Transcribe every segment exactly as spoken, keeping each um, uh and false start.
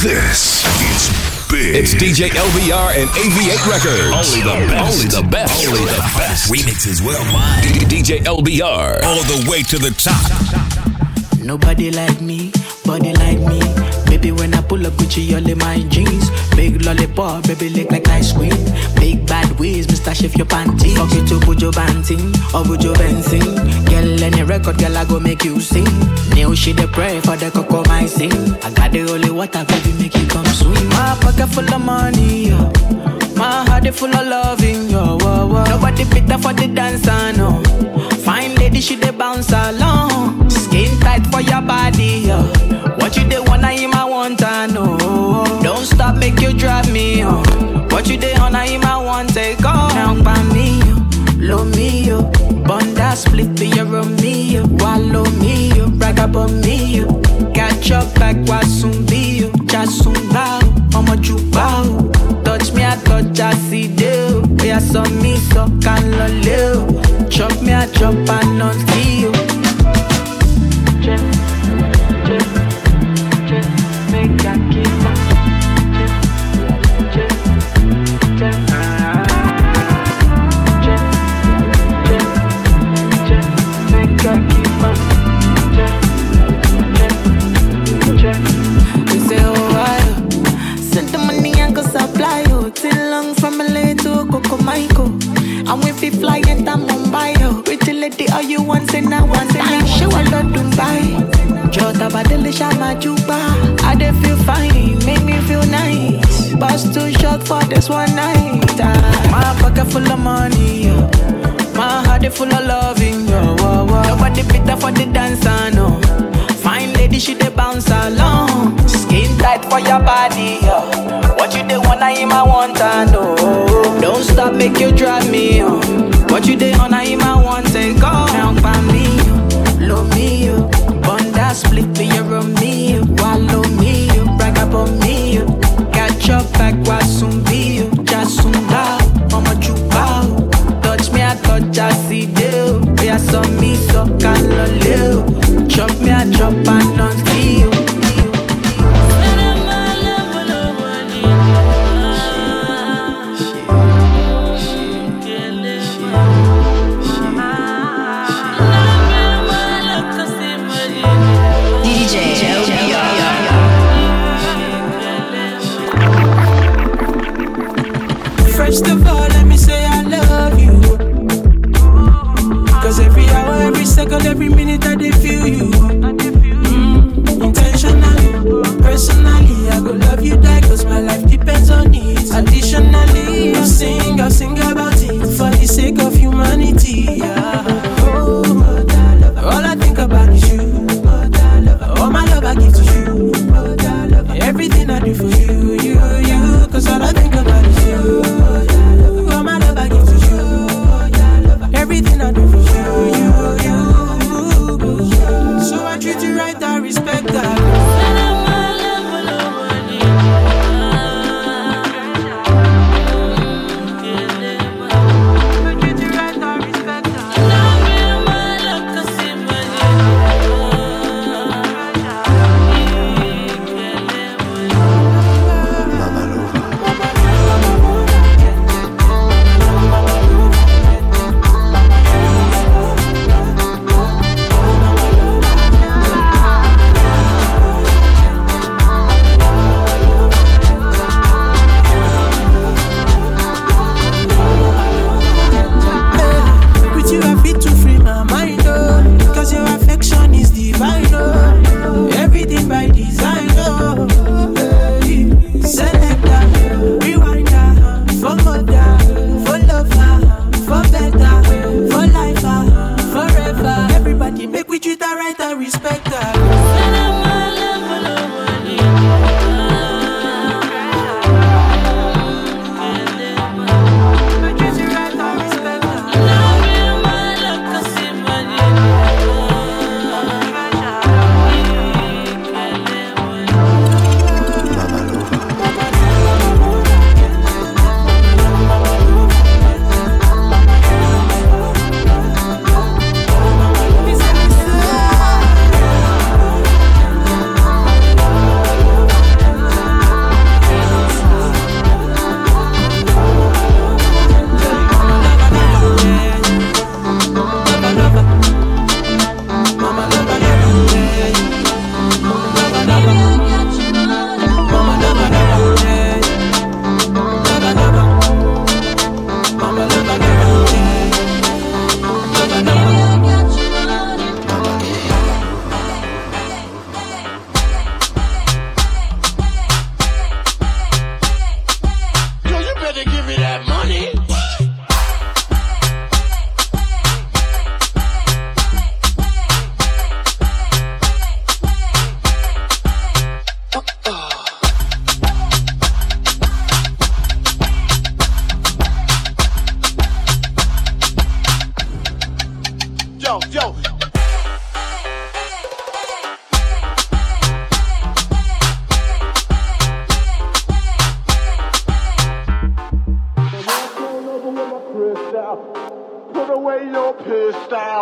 This is big. It's D J L B R and A V eight Records. Only the best. Only the best. Only the best. Remixes worldwide. D J L B R. All the way to the top. Nobody like me, body like me. Baby, when I pull up Gucci, all in my jeans. Big lollipop, baby, lick like ice cream. Big bad ways, Mister Shift your panties. Fuck you to Bujo Banting or Bujo Benzing. Girl, any record, girl, I go make you sing. New shit, they pray for the cocoa, my sing. I got the holy water, baby, make you come swim. My pocket full of money, yo. My heart is full of loving, yo. Whoa, whoa. Nobody better for the dancer, no. Fine lady, she dey bounce along. Skin tight for your body, yo. What you dey wanna him, I want to know. Don't stop, make you drive me on. What you dey on, I him, I want take off. Now by me, yo, low me, yo. Bun that split to your me, yo. Wallow me, yo. Brag about me, yo. Catch up back, what soon be, yo. Just soon bow, mama you bow. Touch me, I touch, I see you. We are some me, so can love. Chop me, I chop, and not you. Check, check, check, make a keep up. Check, check, check, check, check, check, make a keep up. Check, check, check. They say, oh, I send the money and go supply you. Till long from L A to Coco Michael. And we fi fly into Mumbai, yo. Pretty lady, all you want, say now, want, say now. Show a lot Dubai. Jota Badele Shama Juba. I dey feel fine, make me feel nice. Bus too short for this one night. Ah, my pocket full of money, yo. My heart is full of loving, yo. Whoa, whoa. Nobody better for the dancer, no. Fine lady, she dey bounce along. Skin tight for your body, yo. What you dey wanna him, I want to know. Don't stop, make you drive me on. What you dey on, I him, I want take off. Now by me, yo, low me, yo. Bun that split to your me, yo. Wallow me, yo. Brag about me, yo. Catch up back, what soon be, yo. Just soon bow, mama you bow. Touch me, I touch, I see you. We are some me, so can love. Chop me, I chop, and not you. First of all, let me say I love you. Cause every hour, every second, every minute I dey feel you. Mm, intentionally, personally, I go love you die. Cause my life depends on it. Additionally, I'll sing, I'll sing about it. For the sake of humanity, yeah. Oh, all I think about is you. All my love I give to you. Everything I do for you, you, you. Cause all I think about is you. All my love I give to you. Everything I do for you, you, you. So I treat you right, I respect that.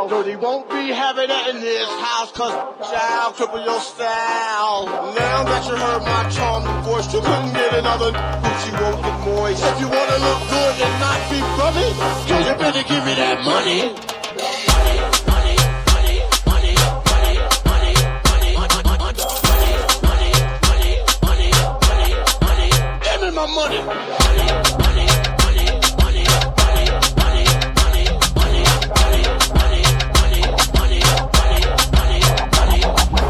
style. So they won't be having that in this house, cause child cripple your style. Now that you heard my charming voice, you couldn't get another Gucci won't get moist. If you wanna look good and not be bummy, you better give me that money. My money. Money, money, money, money, money, money, money, money, money, money, money, money, money,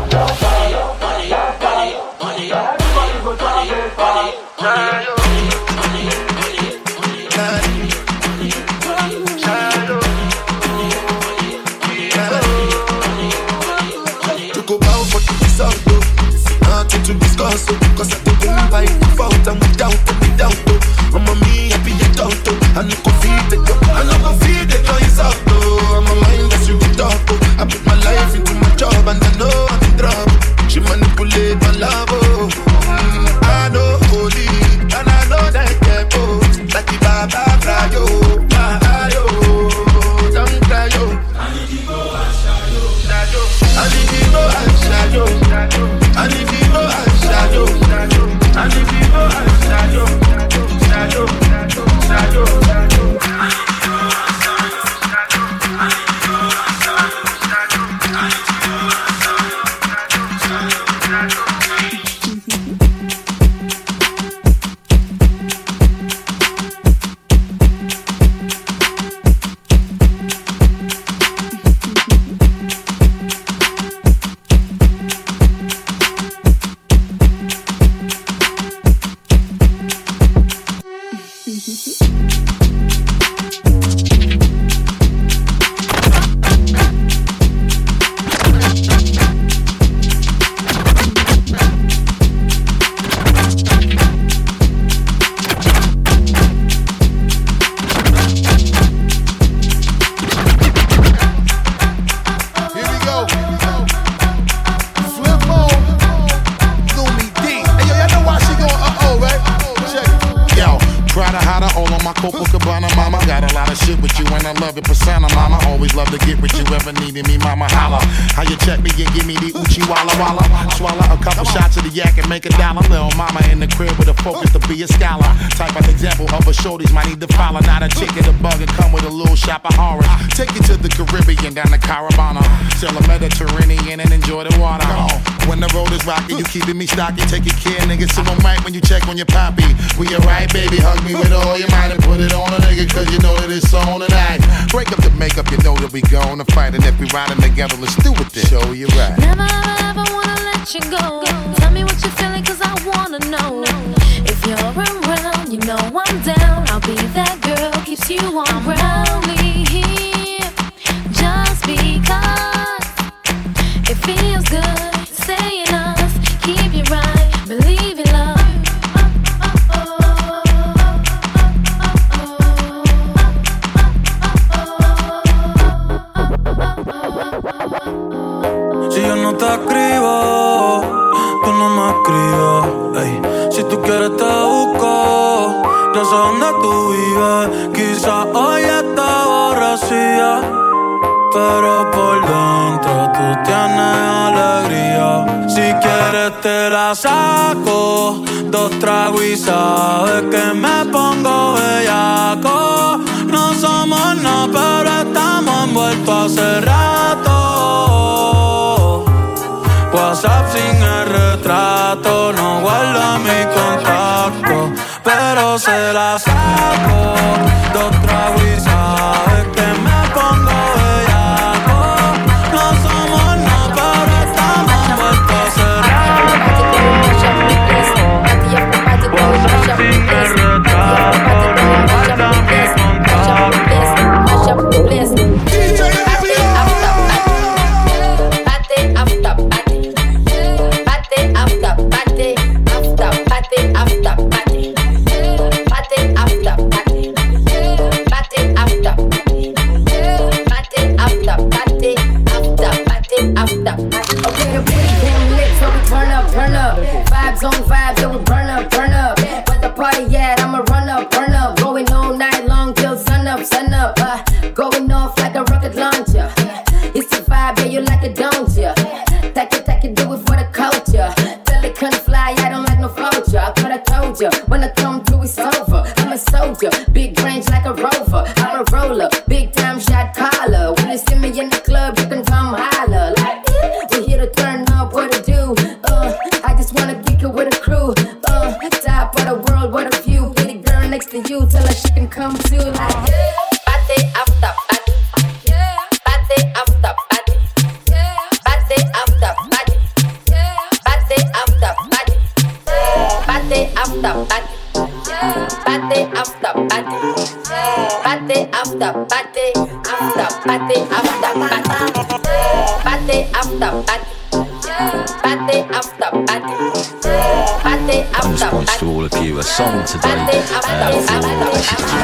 money, money, money, to discuss, cause I don't buy the fault and without any doubt. I'm a me, I be a doctor. I no go feed the girl, I no go feed the girl, it's out though. I'm a mind that's you be talk. I put my life into my job and I know I'm in trouble. She manipulate my love, oh. Mm, I know holy, and I know that they both like the Baba Frayo, Mahayo, don't cry yo. I need to go and shadow, shadow. I need to go and shadow, shadow. I need to go and shadow, shadow. I need to go and shadow, shadow, shadow, shadow, shadow. I need to go and shadow, I need to go and shadow, I need to go and shadow, shadow, make a dollar, little mama in the crib with a focus to be a scholar. Type of example of a shorties might need to follow. Not a ticket, a bug, and come with a little shop of horrors. Take you to the Caribbean, down to Caravana. Sail the Mediterranean and enjoy the water. When the road is rocky, you keeping me stocky. Take your care, nigga, sit on mic when you check on your poppy. We alright, baby, hug me with all your mind and put it on a nigga, cause you know that it's on tonight. Break up the makeup, you know that we gonna fight. And if we riding together, let's do it then. Show you right. Never ever wanna let you go. Tell me what you're feeling, cause I wanna know. If you're around, you know I'm down. I'll be that girl, keeps you on ground. I'm only here just because it feels good. Saying us, keep you right, believe in love. Si yo no te escribo, tú no me escribes, ey. Si tú quieres te busco, no sé dónde tú vives. Quizás hoy está borracía, pero por dentro tú tienes alegría. Si quieres te la saco, dos tragos y sabes que me pongo bellaco. No somos nada, pero estamos envueltos hace rato. WhatsApp sin el retrato, no guarda mi contacto, pero se la saco. Dos tragos y sabes que me pongo bellaco. No somos nada, pero estamos envueltos hace rato. WhatsApp sin el retrato, no guarda mi contacto. After, after, ya. When I come through, it's over. I'm a soldier, big range like a rover. I'm a roller, big time shot caller. When you see me in the club, you can come holler. Like, we're here to turn up, what to do? Uh, I just wanna kick it with a crew. Uh, top of the world, what a view. Pretty girl next to you, tell her she can come too. Like, party after party, party after party, party after party, party after party, party after party, party after party, party after party, after party after party, party after party. Party after party, party after In response to all of you, a song today uh, for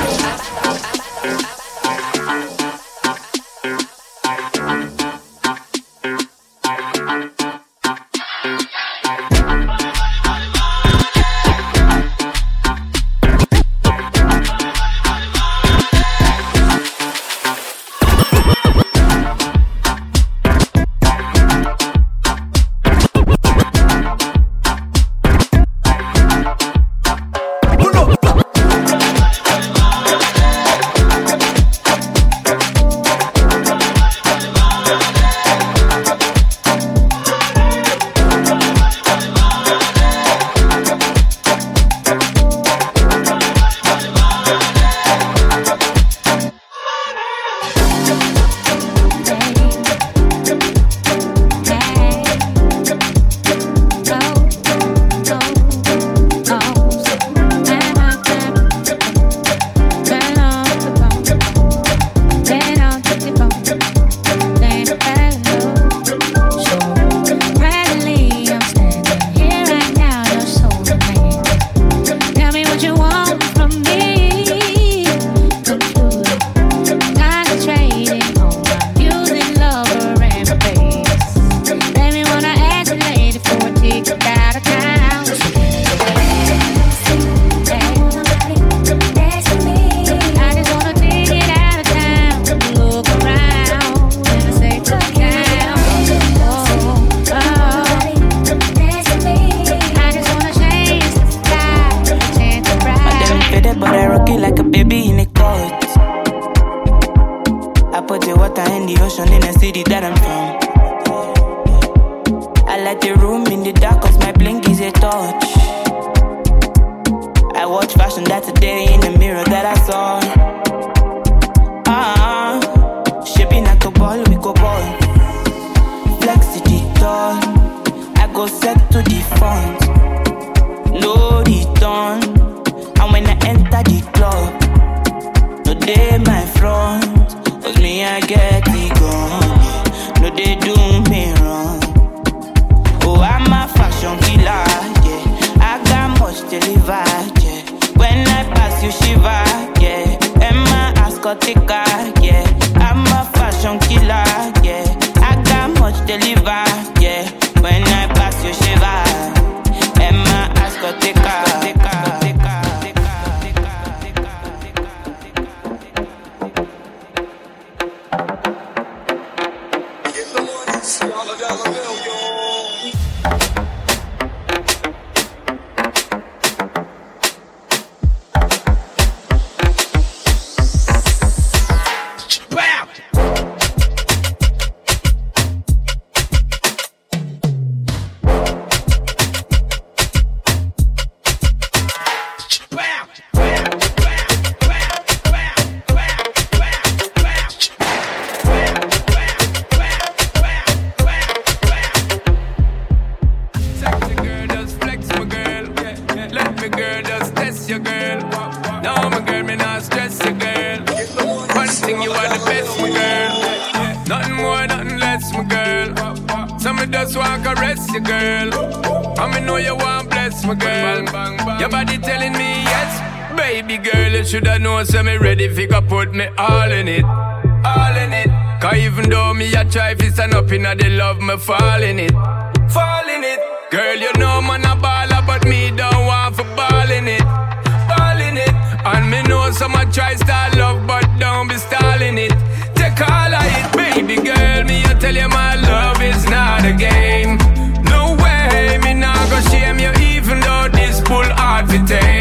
fall in it, fall in it. Girl, you know man a baller, but me don't want for ball in it, ball in it. And me know someone try start love, but don't be stalling it. Take all of it, baby girl. Me I tell you my love is not a game. No way, me not go shame you, even though this pull hard to take.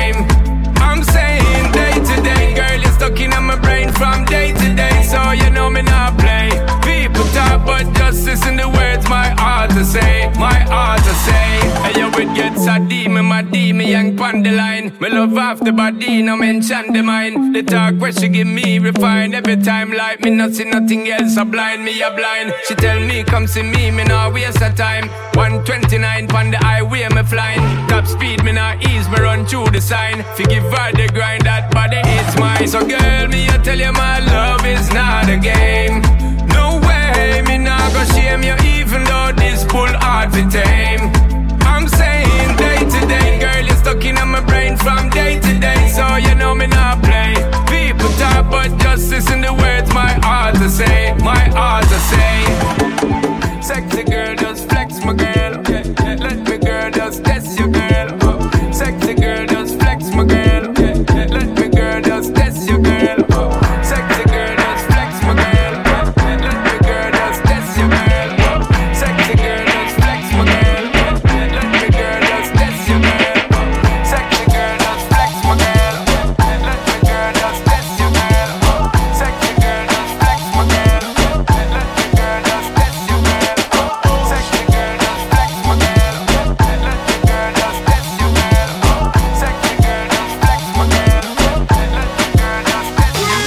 body, me young pon the line. Me love off the body, no mention the mind. The talk where she give me refine. Every time like me not see nothing else, a blind me a blind. She tell me come see me, me nah waste a time. one twenty-nine pon the highway me flying. Top speed me nah ease, me run through the sign. Forgive her the grind, that body is mine. So girl, me I tell you my love is not a game. No way, me nah go shame you even though this bull hard to tame. I'm saying day to day, girl, you're stuck in my brain from day to day. So you know me not play. People talk but just listen the words my heart to say. My heart to say. Sexy girl, just flex my girl. Let me girl, just test your girl. Sexy girl, just flex my girl. Let me girl, just test your girl. Sexy girl, just flex my girl. Let me girl, just test your girl. Sexy girl, just flex my girl. Let me girl, just test your girl. Sexy girl, just flex my girl. Let me girl, just test your girl. Sexy girl, just flex my girl. Let me girl, just test your girl. Sexy girl, just flex my girl. Let me girl, just test your girl. Sexy girl, just flex my girl. Let me girl, just test your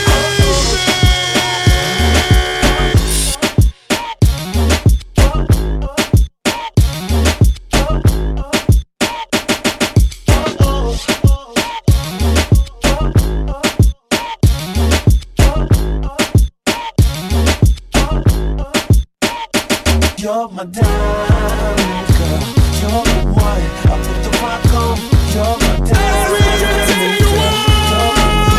You're my diamond girl. You're the one I put the rock on. You're my diamond girl.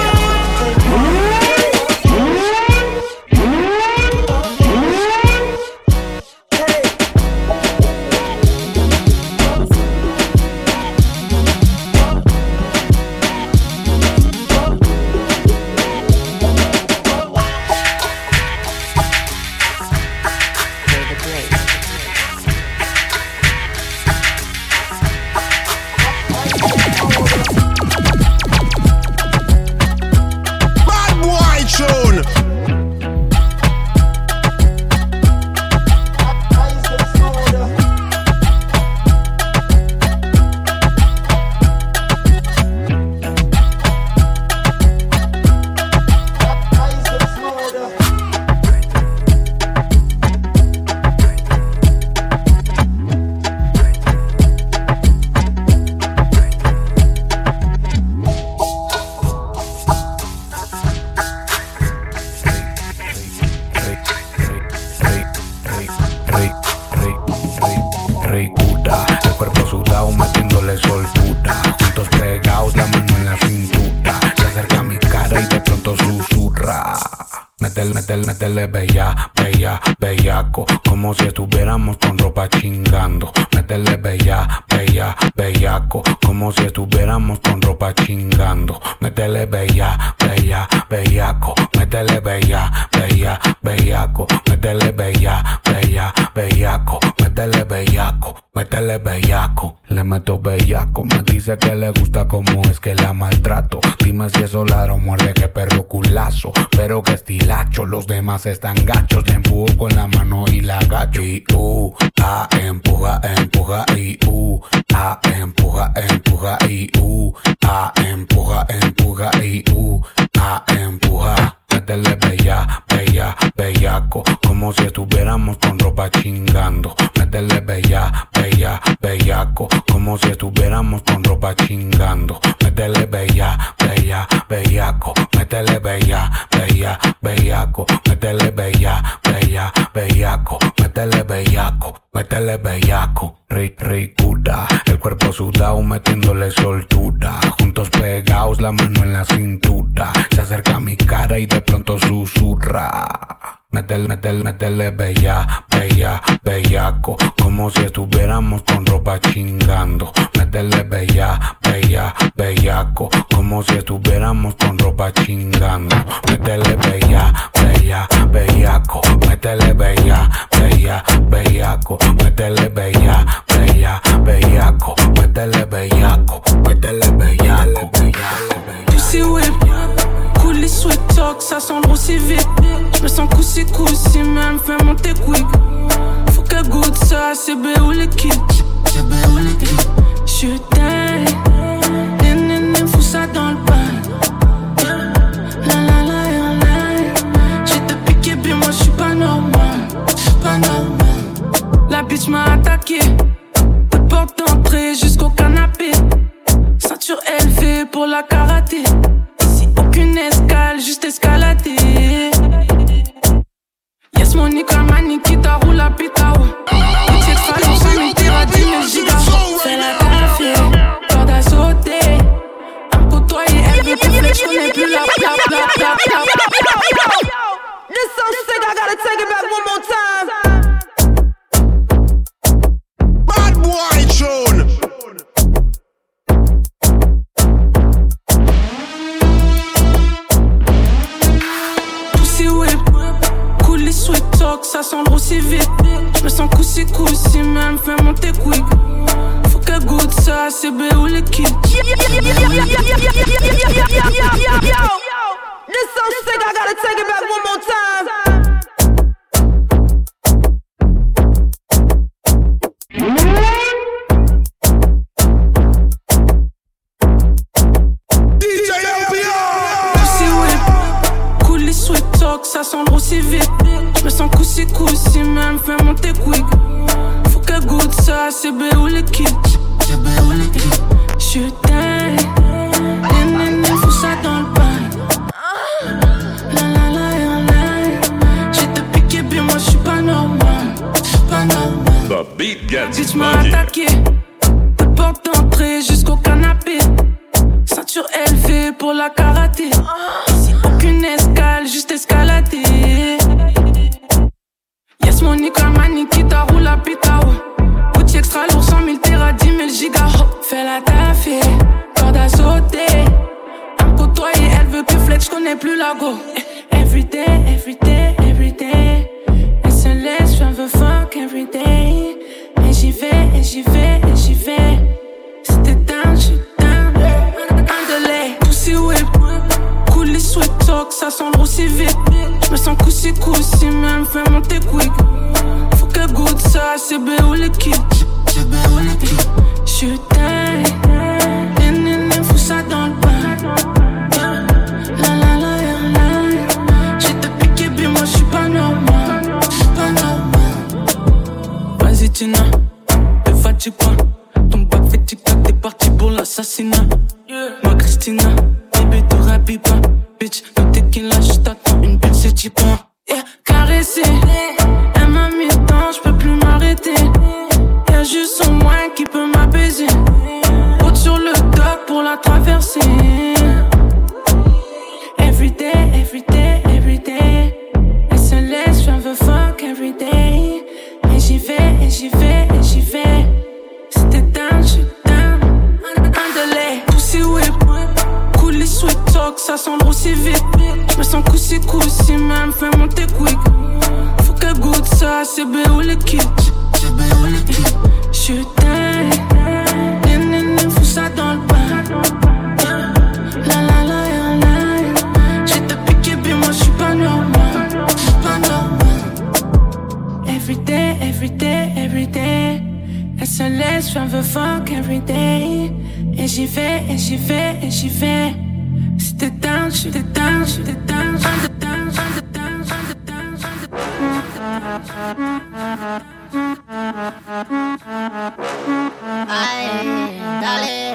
Métele, métele, métele bella, bella, bellaco, como si estuviéramos con ropa chingando. Métele bella, bella, bellaco, como si estuviéramos con ropa chingando. Métele bella, bella, bellaco, métele bella, bella, bellaco, métele bella, bella, bellaco, métele bellaco, métele bellaco. Le meto bellaco, me dice que le gusta como es que la maltrato. Dime si eso ladro muerde, que perro culazo, pero que estilacho, los demás están gachos. Le empujo con la mano y la agacho. Y uh, ah, empuja, empuja y uh, ah, empuja, empuja y uh, ah, empuja, empuja y uh, ah, empuja. Métele bella, bella, bellaco, como si estuviéramos con ropa chingando. Métele bella, bella, bellaco, como si estuviéramos con ropa chingando. Métele bella, bella, bellaco, métele bella, bella, bellaco, métele bella, bella, bellaco, métele bellaco, métele bellaco. Rick, ricuda, el cuerpo sudado metiéndole soltura. Juntos pegados, la mano en la cintura. Se acerca a mi cara y de pronto susurra. Métele, métele, métele bella, bella, bellaco, como si estuviéramos con ropa chingando. Métele bella, bella, bellaco, como si estuviéramos con ropa chingando. Métele bella, bella, bellaco, métele bella, bella, bellaco, métele bella, bella, bellaco, métele bellaco, métele bellaco, Pussy whip, cool les sweat talk, ça sent le aussi vite. Je me sens coussi coussi, mais elle me fait monter quick. Faut qu'elle goûte ça, c'est B ou les kits. C'est B ou les kits. Je t'aime, nénéné, fous ça dans le bain. La la la la la. J'ai te piqué, bien moi j'suis pas normal, j'suis pas normal. La bitch m'a attaqué, de porte d'entrée jusqu'au canapé. Ceinture élevée pour la karaté. Ici aucune escale, juste escalader. Yes money comme Nikita roule la pita. Petit fallon, ça m'étira dix mille gigas. Fais la café, corde à sauter. À me côtoyer, elle veut plus flex, j'connais plus la pla pla pla pla pla. This so sick, I gotta take it back one more time. Bad boy tune. Pussy whip, coulis sweet talk, ça semble aussi vite. Je me sens coussi coussi, même fais monter quick. Faut qu'elle goûte ça, c'est B ou le kit. This so sick, I gotta take it back one more time. D J L B R. Pussy whip, coulis sweet talk, ça semble aussi vite. Je me sens coussi coussi, même fais monter quick. Faut qu'elle goûte ça, c'est B ou le kit. Je t'aime, nénéné, fous ça dans le bain. La la la la la. J'ai te piqué, bien moi j'suis pas normal, j'suis pas normal. The beat gets Bitch m'a funky. attaqué, de porte d'entrée jusqu'au canapé. Ceinture élevée pour la karaté. Ici aucune escale, juste escalader. Yes money comme Nikita roule la pita. Boutique extra lourd, cent mille terras, dix mille gigas. Fais la taffée, corde à sauter. À me côtoyer, elle veut plus flex, j'connais plus la go. Everyday, everyday, everyday. Elle se laisse, j'en veux fuck everyday. Et j'y vais, et j'y vais, et j'y vais. C'était down, j'suis down. Underlay, pussy whip. Coulis sweet talk, ça semble aussi vite. Je me sens coussi coussi, même fais monter quick. Faut qu'elle goûte ça, c'est B ou le kit. Je t'aime, nénéné, fous ça dans le bain. La la la la la. J'ai te piqué, bien moi j'suis pas normal, j'suis pas normal. Vas-y Tina, te fatigue pas. Ton bac fait tic-tac, t'es parti pour l'assassinat. Ma Christina, bébé te rhabille pas. Bitch, le tequila, j't'attends une belle c'est type un. Yeah, caressé, elle m'a mis dedans, j'peux plus m'arrêter. Y'a juste son moins qui peut m'apaiser. Route sur le dock pour la traverser. Everyday, everyday, everyday. Elle se laisse, j'en veux fuck everyday. Et j'y vais, et j'y vais, et j'y vais. C'était down, j'suis down. Underlay, pussy whip. Coulis sweet talk, ça semble aussi vite. Je me sens coussi coussi, même fais monter quick. Faut qu'elle goûte ça, c'est B ou le kit. Je t'aime, nénéné, fous ça dans le bain. La la la la la. J'ai te piqué, bien moi j'suis pas normal, j'suis pas normal. Everyday, everyday, everyday. Elle se laisse, j'en veux fuck everyday. Et j'y vais, et j'y vais, et j'y vais. C'était down, j'étais down, j'étais down, j'étais down, j'étais down, j'étais down, j'étais down. Ay, dale.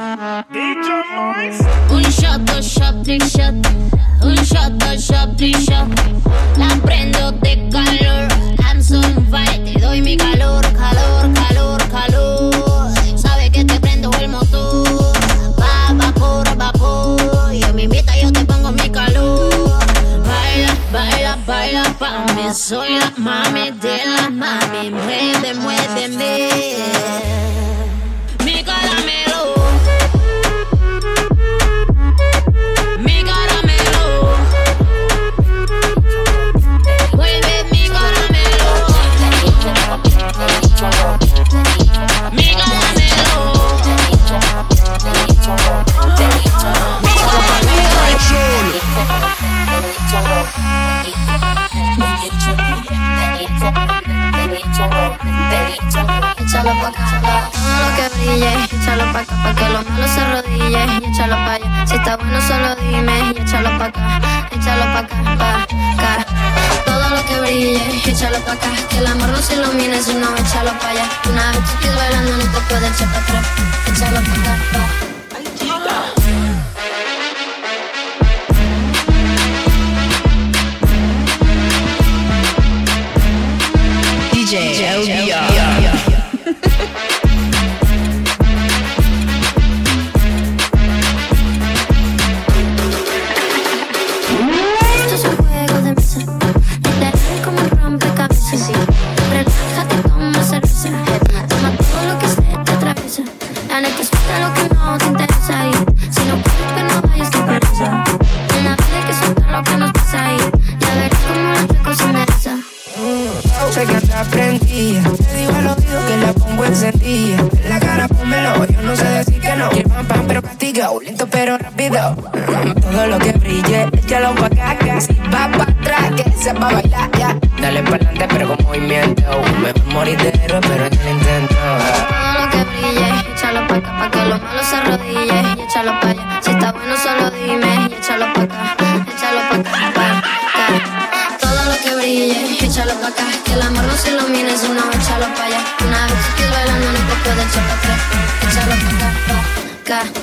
Un shot, dos shot, tres shot. Un shot, dos shot, tres shot. La prendo de calor. I'm so on fire, te doy mi calor, calor, calor, calor. Sabe que te prendo el motor. Va, vapor, vapor. Yo me invita, yo te pongo mi calor. Baila, baila, baila pa' mí sola, mami de la mami. Mueve, muéveme. Mi caramelo. Mi caramelo. pa' acá, pa' que lo malo se arrodille y échalo pa' allá. Si está bueno solo dime y échalo pa' acá, échalo pa' acá, pa' acá. Todo lo que brille, échalo pa' acá, que el amor no se ilumine, si no, échalo pa' allá. Una vez que estés bailando no te puedes echar pa' atrás, échalo pa' acá, pa'. D J L B R. Esto es un juego de mesa, literal como un rompecabezas. Relájate, toma cerveza, toma todo lo que se te atraviesa. La neta suelta lo que no te interesa y si no quieres que no vayas te pereza. Una vez hay que soltar lo que nos pasa ahí, ya verás como la rico se endereza. Sé que te aprendí, te digo al oído que la pongo encendida. En la cara pónmelo, yo no sé decir que no. Quiero pam pam pero castigado, lento pero rápido. Todo lo que brille, échalo pa' acá. Si va pa' atrás, que se va a bailar ya. Dale pa'lante pero con movimiento. Mejor morir de héroe pero en el intento. Todo lo que brille, échalo pa' acá, pa' que lo malo se arrodille y échalo pa' allá. Si está bueno solo dime y échalo pa' acá, échalo pa' acá, pa' acá. Todo lo que brille, échalo pa' acá, que el amor no se ilumine, si no, échalo pa' allá. Una vez que estés bailando no te puedes echar pa' atrás, échalo pa' acá, pa' acá.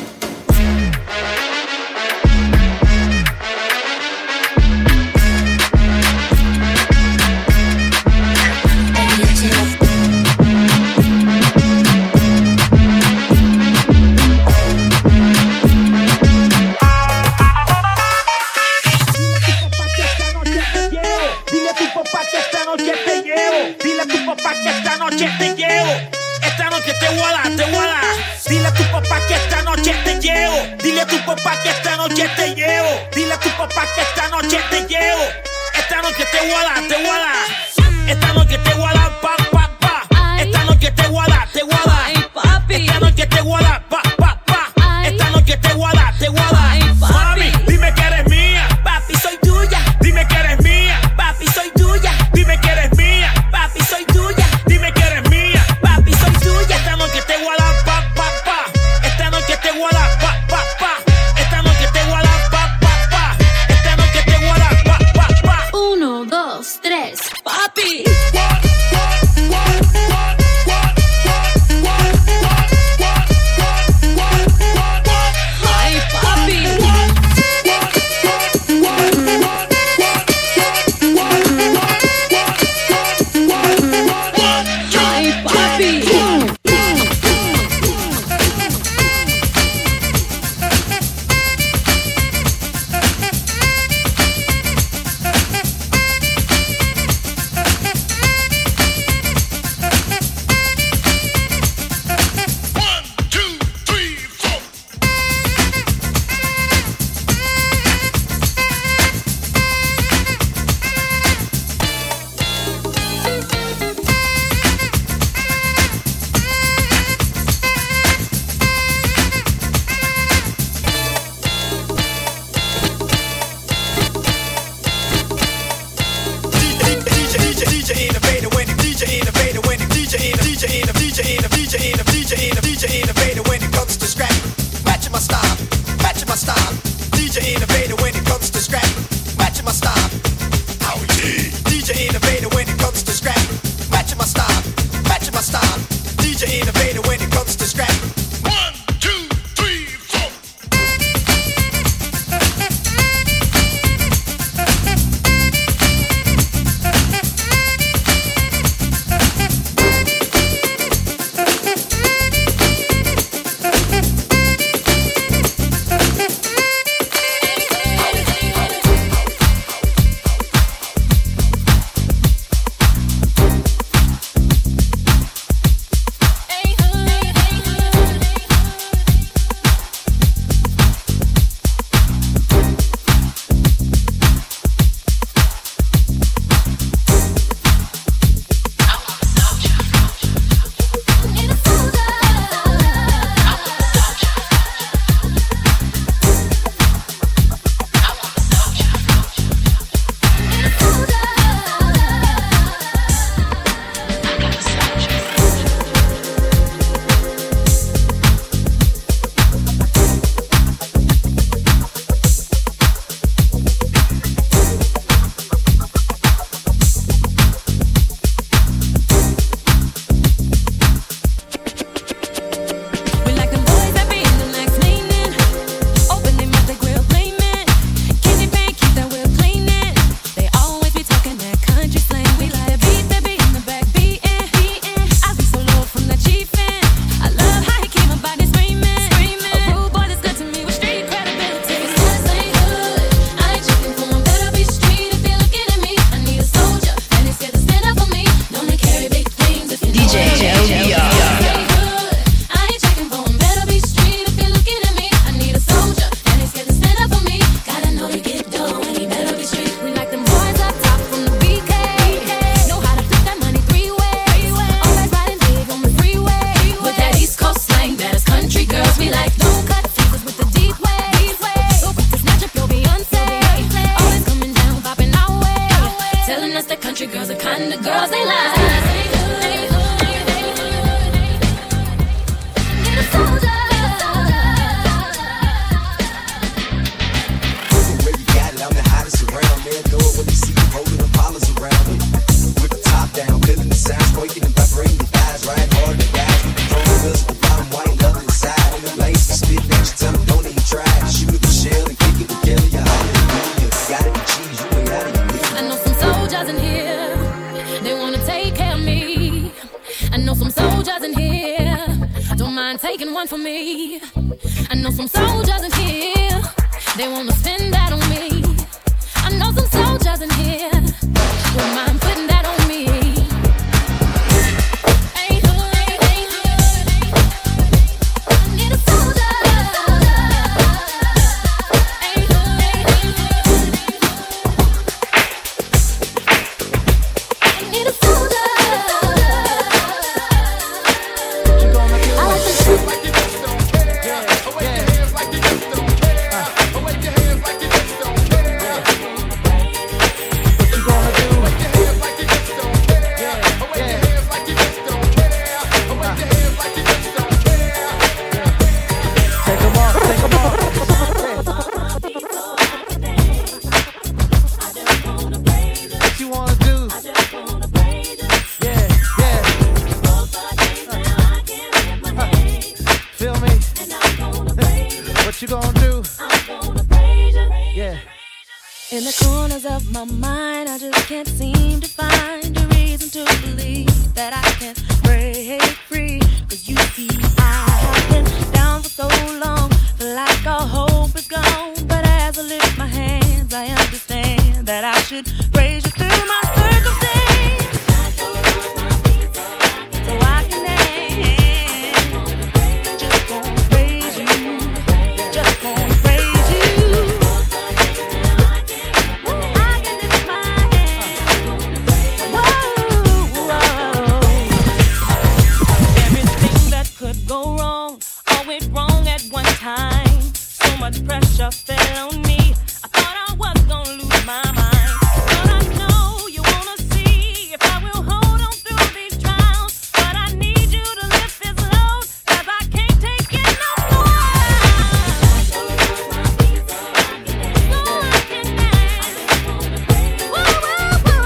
Dile a tu papá que esta noche te llevo. Dile a tu papá que esta noche te llevo. Dile a tu papá que esta noche te llevo. Esta noche te voy a dar, te voy a dar. Esta noche te voy a dar, pa, pa, pa. Esta noche te voy a dar, te voy a dar. Esta noche te voy a dar, pa, pa, pa. Esta noche te voy a dar, te voy a dar. Mami, dime que eres mía. Papi, soy tuya. Dime que eres mía. Papi, soy tuya. Dime que eres mía. Papi, soy tuya. Dime que eres mía. Papi, soy tuya. Esta noche te voy a dar, pa, pa, pa. Esta noche te voy a dar, pa, pa, pa. Esta noche te voy a dar, pa, pa, pa. Esta noche te voy a dar, pa, pa, pa. Uno, dos, tres, papi. Ay, papi. Ay, papi. mind taking one for me? I know some soldiers in here, they wanna spend that on me. I know some soldiers in here, wouldn't mind putting that on me. Ain't hood, ain't, ain't hood. I need a soldier. Ain't hood, ain't, ain't hood. I need a soldier. What you gonna do? I like the shit like you just don't care. Away your hands like you just don't care. Away your hands like you just don't care. What you gonna do? Away your hands like you just don't care. Away your hands like you just don't care. Away your hands like you just don't care. Take 'em off, take 'em off. What you wanna do? Yeah, yeah. Feel me? What you gonna do? Yeah. In the corners of my mind, I just can't seem to find a reason to believe that I can break free. Cause you see, I have been down for so long, feel like all hope is gone. But as I lift my hands, I understand that I should praise you through my circumstance. So I can dance, just gonna praise you, just gonna praise you. Everything that could go wrong, all went wrong at one time. So much pressure fell on me. I thought I was gonna lose my mind. But I know you wanna see if I will hold on through these trials. But I need you to lift this load, cause I can't take it no more. So I can dance. Woo, woo, woo.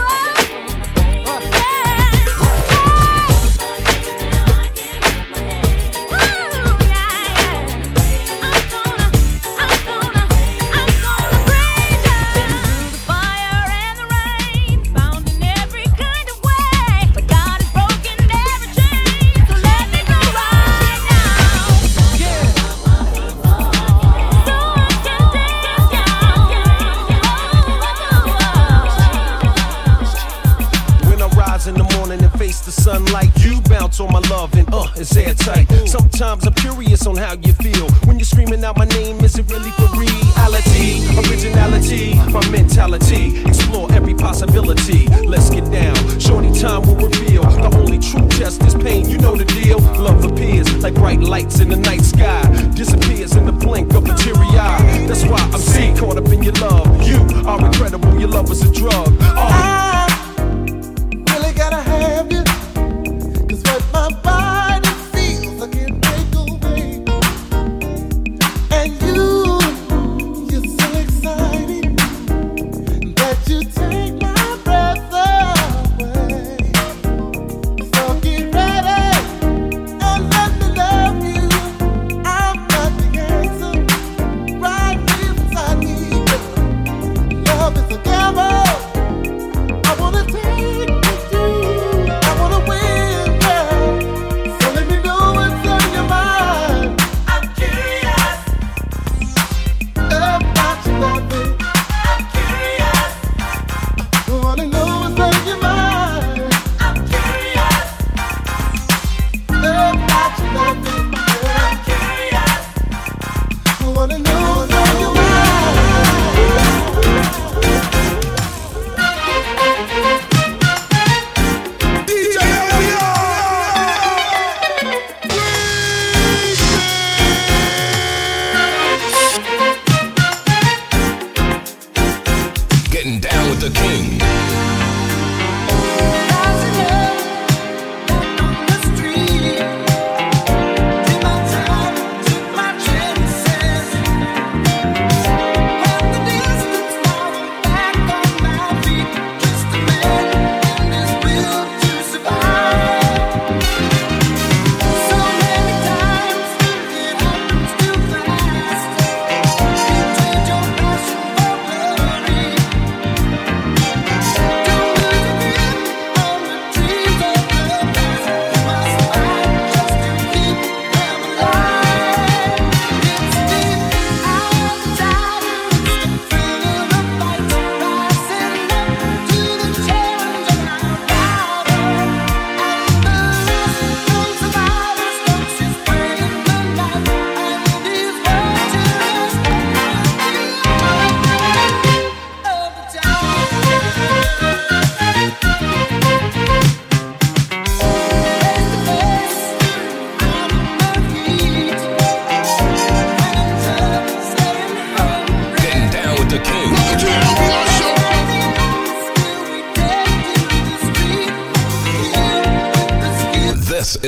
When I rise in the morning and face the sunlight, you bounce on my love and uh, it's airtight. Sometimes I'm curious on how you feel when you're screaming out my name. Is it really for reality? Originality, my mentality. Explore every possibility. Let's get down. Shorty time will reveal. The only true test is pain. You know the deal. Love appears like bright lights in the night sky. Disappears in the blink of a teary eye. That's why I'm C, caught up in your love. You are incredible. Your love is a drug. Oh. Really gotta have you, cause what my body feels I can't take away. And you, you're so exciting that you take my breath away. So get ready and let me love you. I've got the answer right here beside me. Love is a gamble.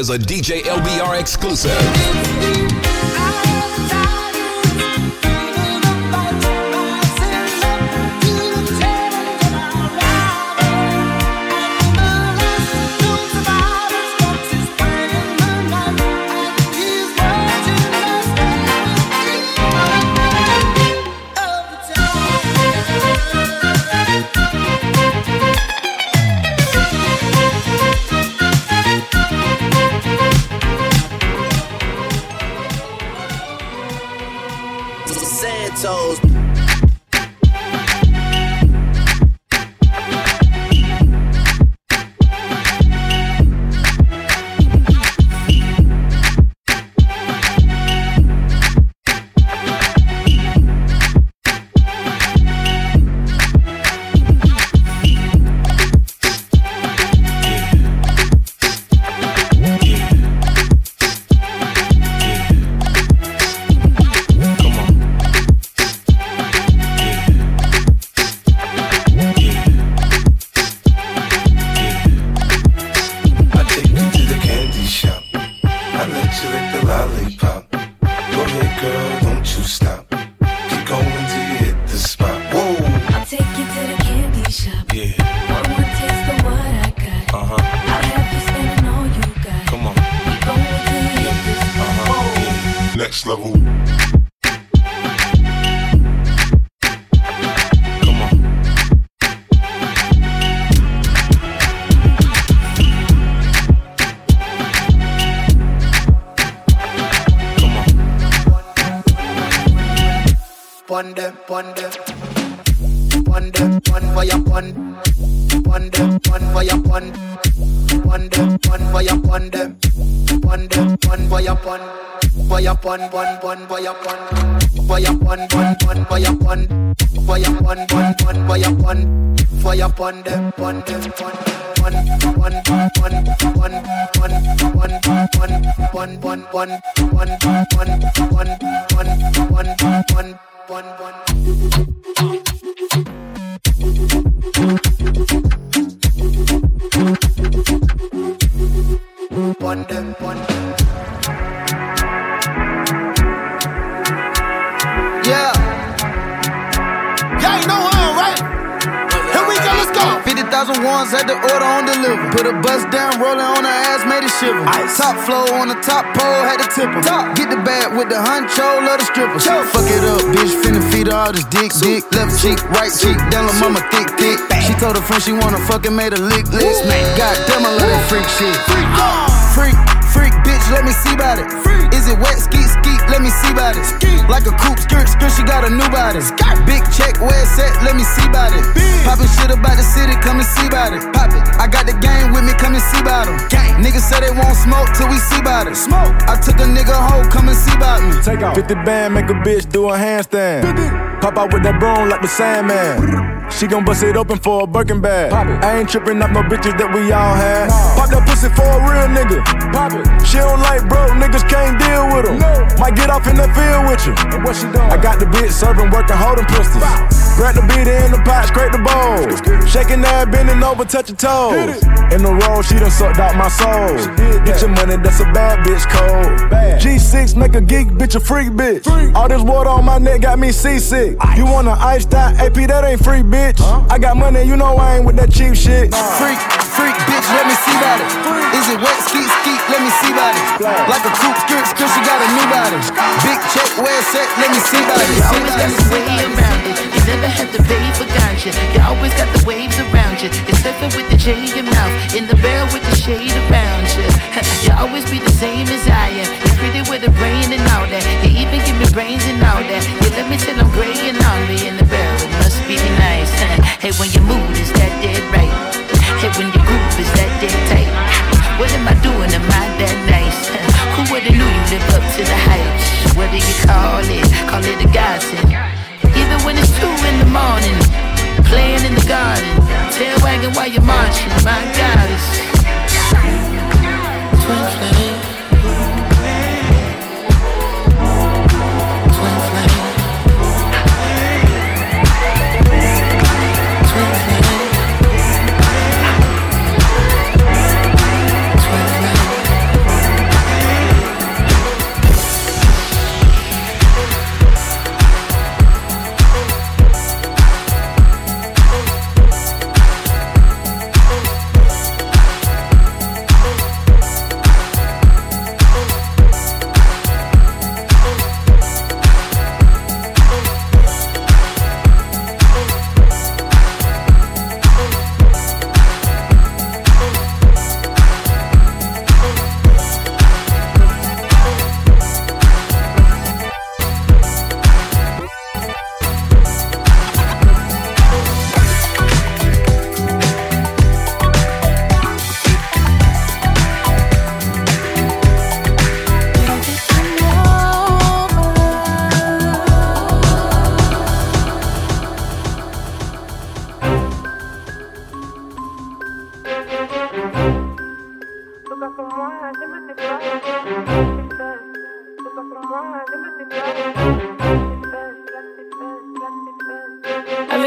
is a D J L B R exclusive. Santos. Next level. Pon them, pon them, pon them, pon for your pon, pon them, pon for your pon, pon them, pon for your pon them, pon them, pon for your pon, for your pon, pon, pon for your pon, for your pon, pon, pon for your pon, for your pon, pon, pon for your pon, for your pon them, pon them, pon. One, one, one, one, one, one, one, one, one, one, one, one, one, one, one, one, one. One them, one. Yeah. Yeah, you know I'm right. Here we go, let's go. fifty thousand ones had the order on deliver. Put a bus down, rolling on her ass, made it shiver. Ice. Top flow on the top pole, had to tip her. Top. Get the bag with the honcho, love the stripper. Show. Fuck it up, bitch, finna feed her all this dick, dick. Left cheek, right cheek, down la mama thick, thick. She told her friend she wanna fuck and made a lick, lick. God damn, I love that freak shit. Freak, freak, freak, bitch, let me see about it. Is it wet, skeet, skeet, let me see about it. Like a coupe, skirt, skirt, she got a new body. Big check, where it's at, let me see about it. Poppin' shit about the city, come and see about it. Pop it, I got the game with me, come and see about them. Niggas say they won't smoke till we see about it. Smoke. I took a nigga hoe, come and see about me. Take off. fifty band, make a bitch do a handstand. Pop out with that broom like the Sandman. She gon' bust it open for a Birkin bag. I ain't trippin' up no bitches that we all had. No. Pop that pussy for a real nigga. Pop it. She don't like broke niggas, can't deal with them. No. Might get off in the field with you. And what she doing? I got the bitch serving, working, holding pistols. Bow. Grab the beat in the pot, scrape the bowl. Shaking that, bending over, touch your toes. In the roll, she done sucked out my soul. Get your money, that's a bad bitch code. Bad. G six make a geek bitch a freak bitch. Freak. All this water on my neck got me seasick. Ice. You want an iced out A P, that ain't free, bitch. Huh? I got money, you know I ain't with that cheap shit. Nah. Freak, freak, bitch, let me see about it. Freak. Is it wet, skeet, skeet, let me see about it. Flag. Like a coupe, skirt, skirt, she got a new body. Big check, where it's at, let me see about it. You always got the way around it. You never had to pay for ganja. You always got the waves around you. You're surfing with the J in your mouth. In the barrel with the shade around you. You always be the same as I am. You're pretty with the brain and all that. You even give me brains and all that. You let me till I'm gray and hungry in the barrel. It must be nice. Hey, when your mood is that dead right. Hey, when your groove is that dead tight. What am I doing? Am I that nice? Who would've knew you live up to the hype? What do you call it? Call it a godsend. Even when it's two in the morning, playing in the garden, tail wagging while you're marching. My God, it's twin flame.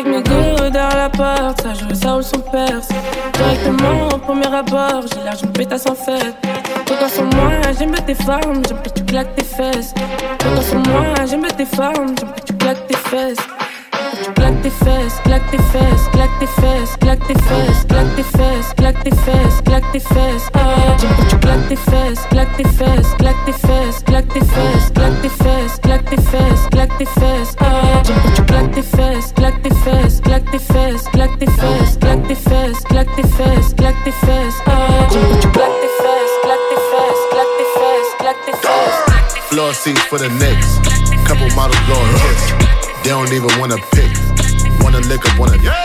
avec mes deux derrière la porte, ça joue ça ou son perse. Directement au premier abord, j'ai l'air d'une pétasse en fait. Regarde sur moi, j'aime bien tes femmes, j'aime que tu claques tes fesses. Regarde sur moi, j'aime bien tes femmes, j'aime que tu claques tes fesses. Claque tes fesses, claque tes fesses, claque tes fesses, claque tes fesses, claque tes fesses, claque tes fesses, claque tes fesses. J'aime que tu claques tes fesses, claque tes fesses, claque tes fesses, claque tes fesses, claque tes fesses, claque tes fesses, claque tes fesses. J'aime que tu claques tes fesses, claque tes fesses, claque tes fesses, claque tes fesses, claque tes fesses, claque tes fesses, claque tes fesses. J'aime que tu claques tes fesses, claque tes fesses, claque tes fesses, claque tes fesses. Floor seats for the Knicks, couple models blowing hits. They don't even wanna pick, wanna lick up on a dick.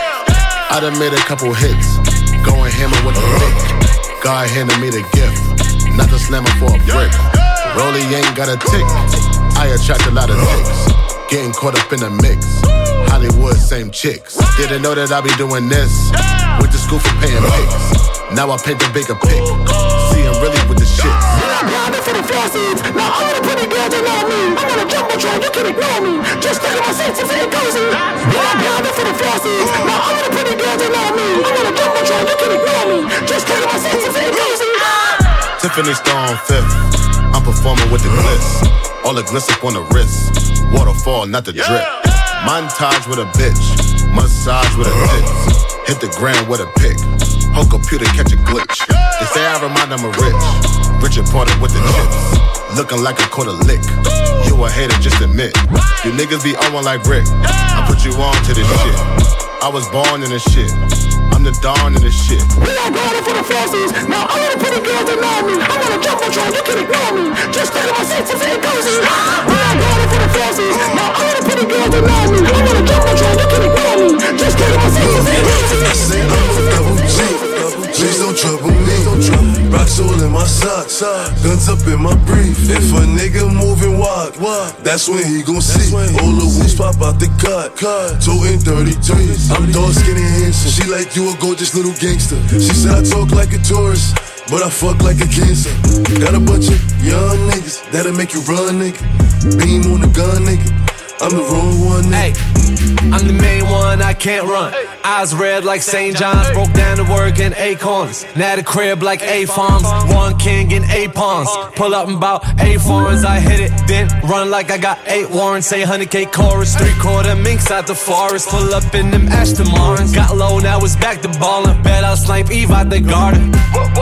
I done made a couple hits, going hammer with a lick. God handed me the gift, not the slammer for a brick. Rollie ain't got a tick, I attract a lot of dicks. Getting caught up in the mix, Hollywood, same chicks. Didn't know that I be doing this, went to school for paying pics. Now I paint the bigger pic, see I'm really with the shit. For the flossies, now all the pretty girls they know me. I'm on a jumbotron, you can ignore me. Just think of my senses and cozy. Yeah, for the flossies, now all the pretty girls they know me. I'm on a jumbotron, you can ignore me. Just think of my senses and cozy. Tiffany Stone fifth, I'm performing with the glitz. All the gliss up on the wrist, waterfall, not the drip. Montage with a bitch, massage with a dick. Hit the ground with a pick, whole computer catch a glitch. They say I remind them of rich, Richard Porter with the chips. Looking like a quarter lick, you a hater, just admit. You niggas be on one like Rick, I put you on to this shit. I was born in this shit, I'm the dawn in this shit. We all going for the flossies, now all the pretty girls they know me. I'm on a jumbotron, you can ignore me. Just think of my senses and cozy. We all going for the flossies, now all the pretty girls they know me. I'm on a jumbotron, you can ignore me. Just think of my senses and cozy. Double G, please don't trouble me. Rocks all in my socks, guns up in my brief. If a nigga moving wild, that's when he gon' see. All the wheels pop out the cut, toting thirty-threes. I'm dark, skinny, handsome. She like you a gorgeous little gangster. She said I talk like a tourist, but I fuck like a cancer. Got a bunch of young niggas that'll make you run, nigga. Beam on the gun, nigga. I'm the wrong one, nigga. Hey, I'm the main one, I can't run. Eyes red like Saint John's, broke down to work in acorns. Now the crib like A farms, one king in eight pawns. Pull up in about eight foreigns, I hit it, then run like I got eight warrants. Say one hundred K chorus, three quarter minks out the forest. Pull up in them Aston Martins, got low, now it's back to ballin'. Bet I'll snipe Eve out the garden.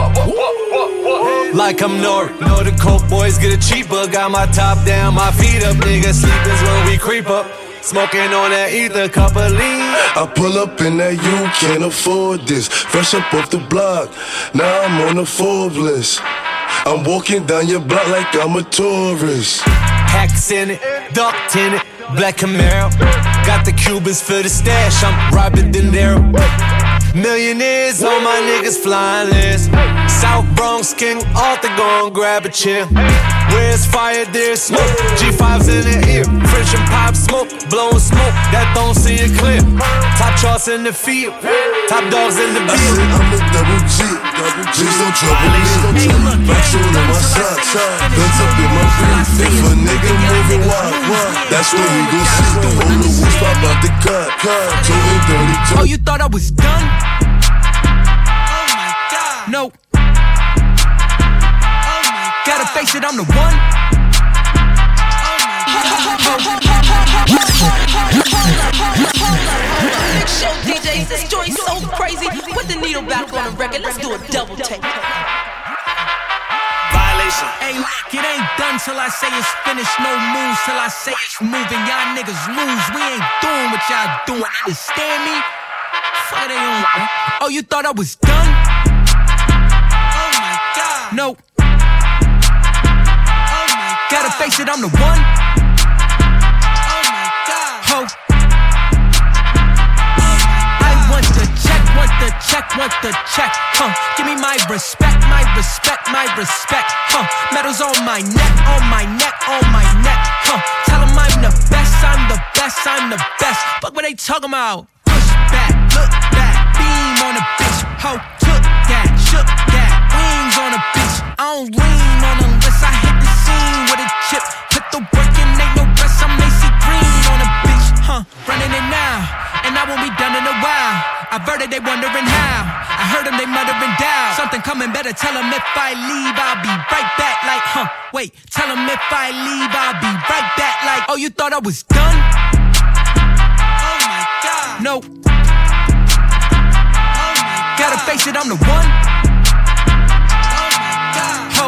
Like I'm Nori, know the coke boys get it cheaper. Got my top down, my feet up, nigga. Sleepers when we creep up. Smoking on that ether, cup of lean. I pull up in that you can't afford this. Fresh up off the block, now I'm on the Forbes list. I'm walking down your block like I'm a tourist. Hacks in it, ducked in it, black Camaro. Got the Cubans for the stash, I'm Robert De Niro. Millionaires on my niggas flying list. South Bronx King Arthur gon' grab a chair. Where's fire, there's smoke. G fives in the ear, French and pop smoke, blowing smoke that don't see it clear. Top charts in the field, top dogs in the beat. I said I'm a double G, G's don't trouble me. Rocks all in my socks, guns up in my brief. If a nigga moving wild, that's when he gon' see. The whole the wheels pop out the cut, toting thirty-two. Oh, you thought I was done? Oh my God. No. Gotta face it, I'm the one. Big show D Js, this joint's so crazy. Put the needle back on the record, let's do a double take. Violation. Hey, look, it ain't done till I say it's finished. No moves till I say it's moving. Y'all niggas lose, we ain't doing what y'all doing. Understand me? Fuck they on. Oh, you thought I was done? Oh my God. No. Gotta face it, I'm the one. Oh my God. Ho. I want the check, want the check, want the check. Huh. Give me my respect, my respect, my respect. Huh. Medals on my neck, on my neck, on my neck. Huh. Tell them I'm the best, I'm the best, I'm the best. Fuck what they talking about. Push back, look back, beam on a bitch. Ho. Took that, shook that, wings on a bitch. I don't lean on unless I hit the scene with a chip. Put the work in, ain't no rest. I'm Macy Green on a bitch, huh? Running it now, and I won't be heard it, they wondering how. I heard them, they muttering down. Something coming, better tell them if I leave, I'll be right back. Like, huh, wait, tell them if I leave, I'll be right back. Like, oh, you thought I was done? Oh my God. No. Oh my God. Gotta face it, I'm the one. Oh my God. Ho.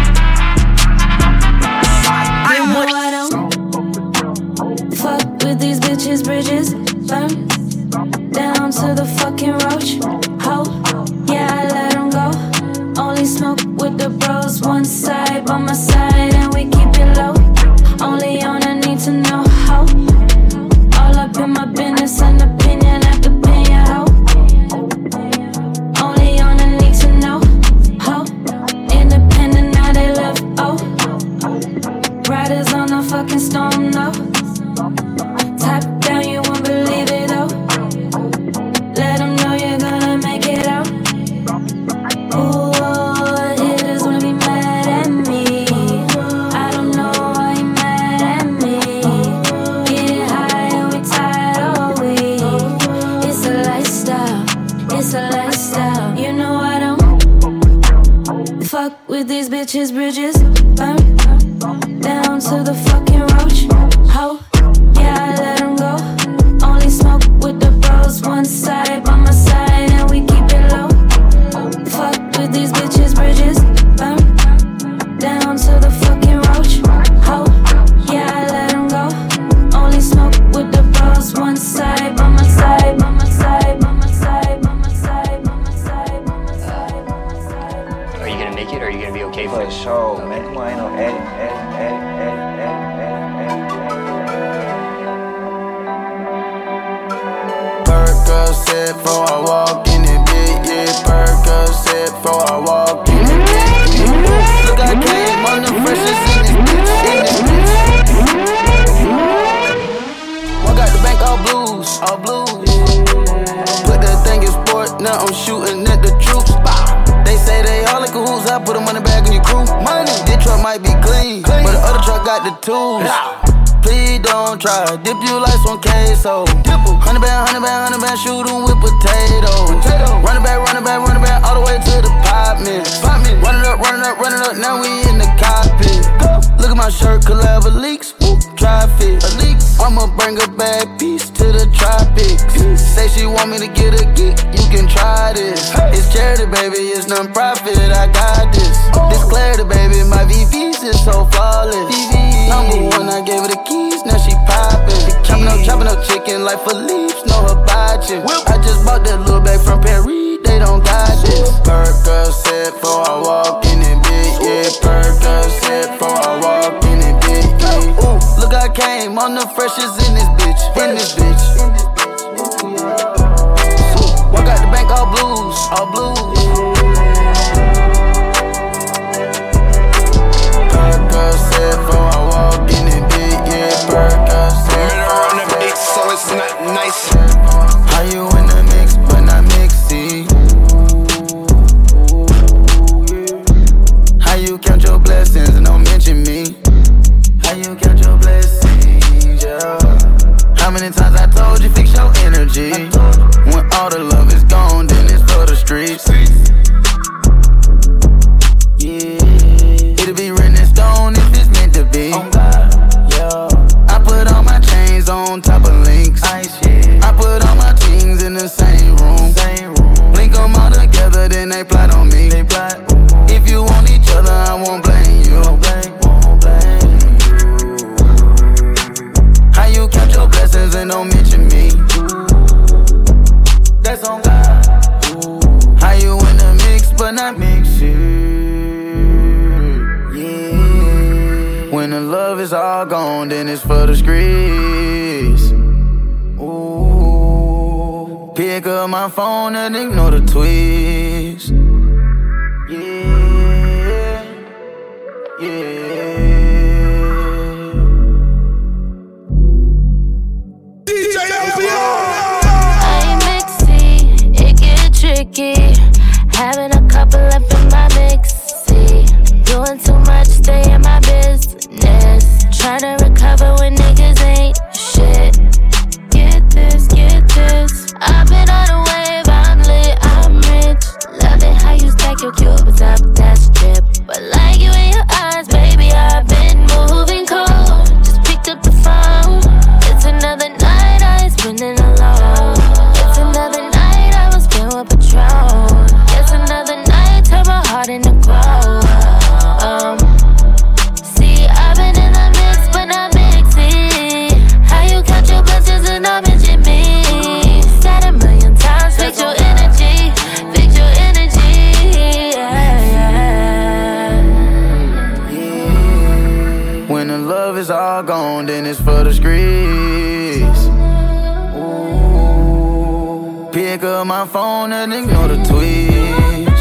You know I don't fuck with these bitches, bridges burn down to the fucking roach. Ho, yeah, I let them go. Only smoke with the bros, one side by my side, and we keep it low. Only on I need to know how. All up in my business and opinion after opinion, ho. Only on I need to know how. Independent, now they left, oh. Riders on the fucking storm, no. Top down, you won't believe it, though. Let them know you're gonna make it out. Ooh, haters wanna be mad at me. I don't know why you mad at me. Get high and we tired all week. It's a lifestyle, it's a lifestyle. You know I don't fuck with these bitches, bridges burn down to the fucking roach. Ho, yeah, I let them go. Only smoke with the bros, one side by my side, and we keep it low. Fuck with these bitches, bridges burn down to the fucking roach. Ho, yeah, I let them go. Only smoke with the bros, one side by my side, by my side, by my side, by my side, by my side, by my side, by my side. Are you gonna make it, or are you gonna be okay for it? For sure, man. Come on, ain't no edit, edit, edit, edit, edit, Percocet before I walk in it, bitch, yeah. Percocet before I walk in it, bitch, yeah. Look, I came on the freshest in this bitch, in this bitch. I got the bank all blues, all blues. Put that thing in sport, now I'm shooting at the troops. They say they all in cahoots, I put a money bag in your crew. Money, this truck might be clean, clean. But the other truck got the tools. Please don't try, dip you like some queso. Hundred band, hundred band, hundred band, shoot 'em with potatoes. Run it back, run it back, run it back, all the way to the pop man. Run it up, run it up, run it up, now we in the cockpit. Look at my shirt, collab leaks, whoop, traffic. I'ma bring a bad piece to the tropics. Say she want me to get a geek, you can try this. It's charity, baby, it's non-profit, I got this. This clarity, baby, my V Vs is so flawless. Number one, I gave her the keys, now she poppin'. Chopping up, chopping up chicken like Philippe's, know her botchin'. I just bought that little bag from Paris, they don't got this. Percocet before I walk in it, bitch, yeah. Percocet before I walk in it, bitch, yeah. Ooh, look, I came on the freshest in this bitch, in this bitch. Ooh, I got the bank all blues, all blues. Percocet before I walk in it, bitch, yeah. Percocet. Around the beat, so it's not nice. How you in the mix, but not mixy? How you count your blessings and don't mention me? How you count your blessings, yeah? How many times I told you fix your energy? When all the love is gone, then it's for the streets. Yeah, it'll be written in stone if it's meant to be. Yeah, I put all my chains on top of links. I put all my teams in the same room. Link them all together, then they plot on me. If you want each other, I won't blame you. How you count your blessings and don't mention me? That's on God. How you in the mix but not mixing? Yeah. When the love is all gone, then it's for the streets. Ooh. Pick up my phone and ignore the tweets. Yeah. Yeah. D J L B R. I'm mixy, it get tricky. Having a couple up in my mixy. Doing too much, stay in my business. Trying to recover when niggas ain't shit. Get this, get this. I've been on a wave, I'm breeze. Ooh. Pick up my phone and ignore the tweets.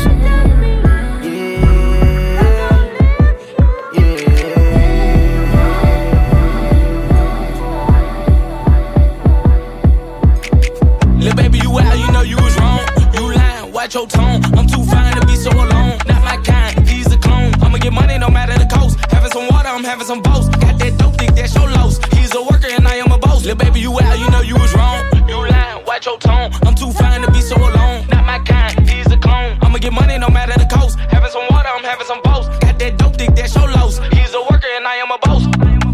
Lil' baby, you out, you know you was wrong. You lying, watch your tone. I'm too fine to be so alone. Not my kind, he's a clone. I'ma get money no matter the cost. Having some water, I'm having some boast. Got that dope, think that's your loss. He's a worker and I am a boss. Lil' baby, you out, you know you was wrong. You lying, watch your tone. I'm too fine to be so alone. Not my kind, he's a clone. I'ma get money no matter the cost. Having some water, I'm having some boast. Got that dope, think that's your loss. He's a worker and I am a boss.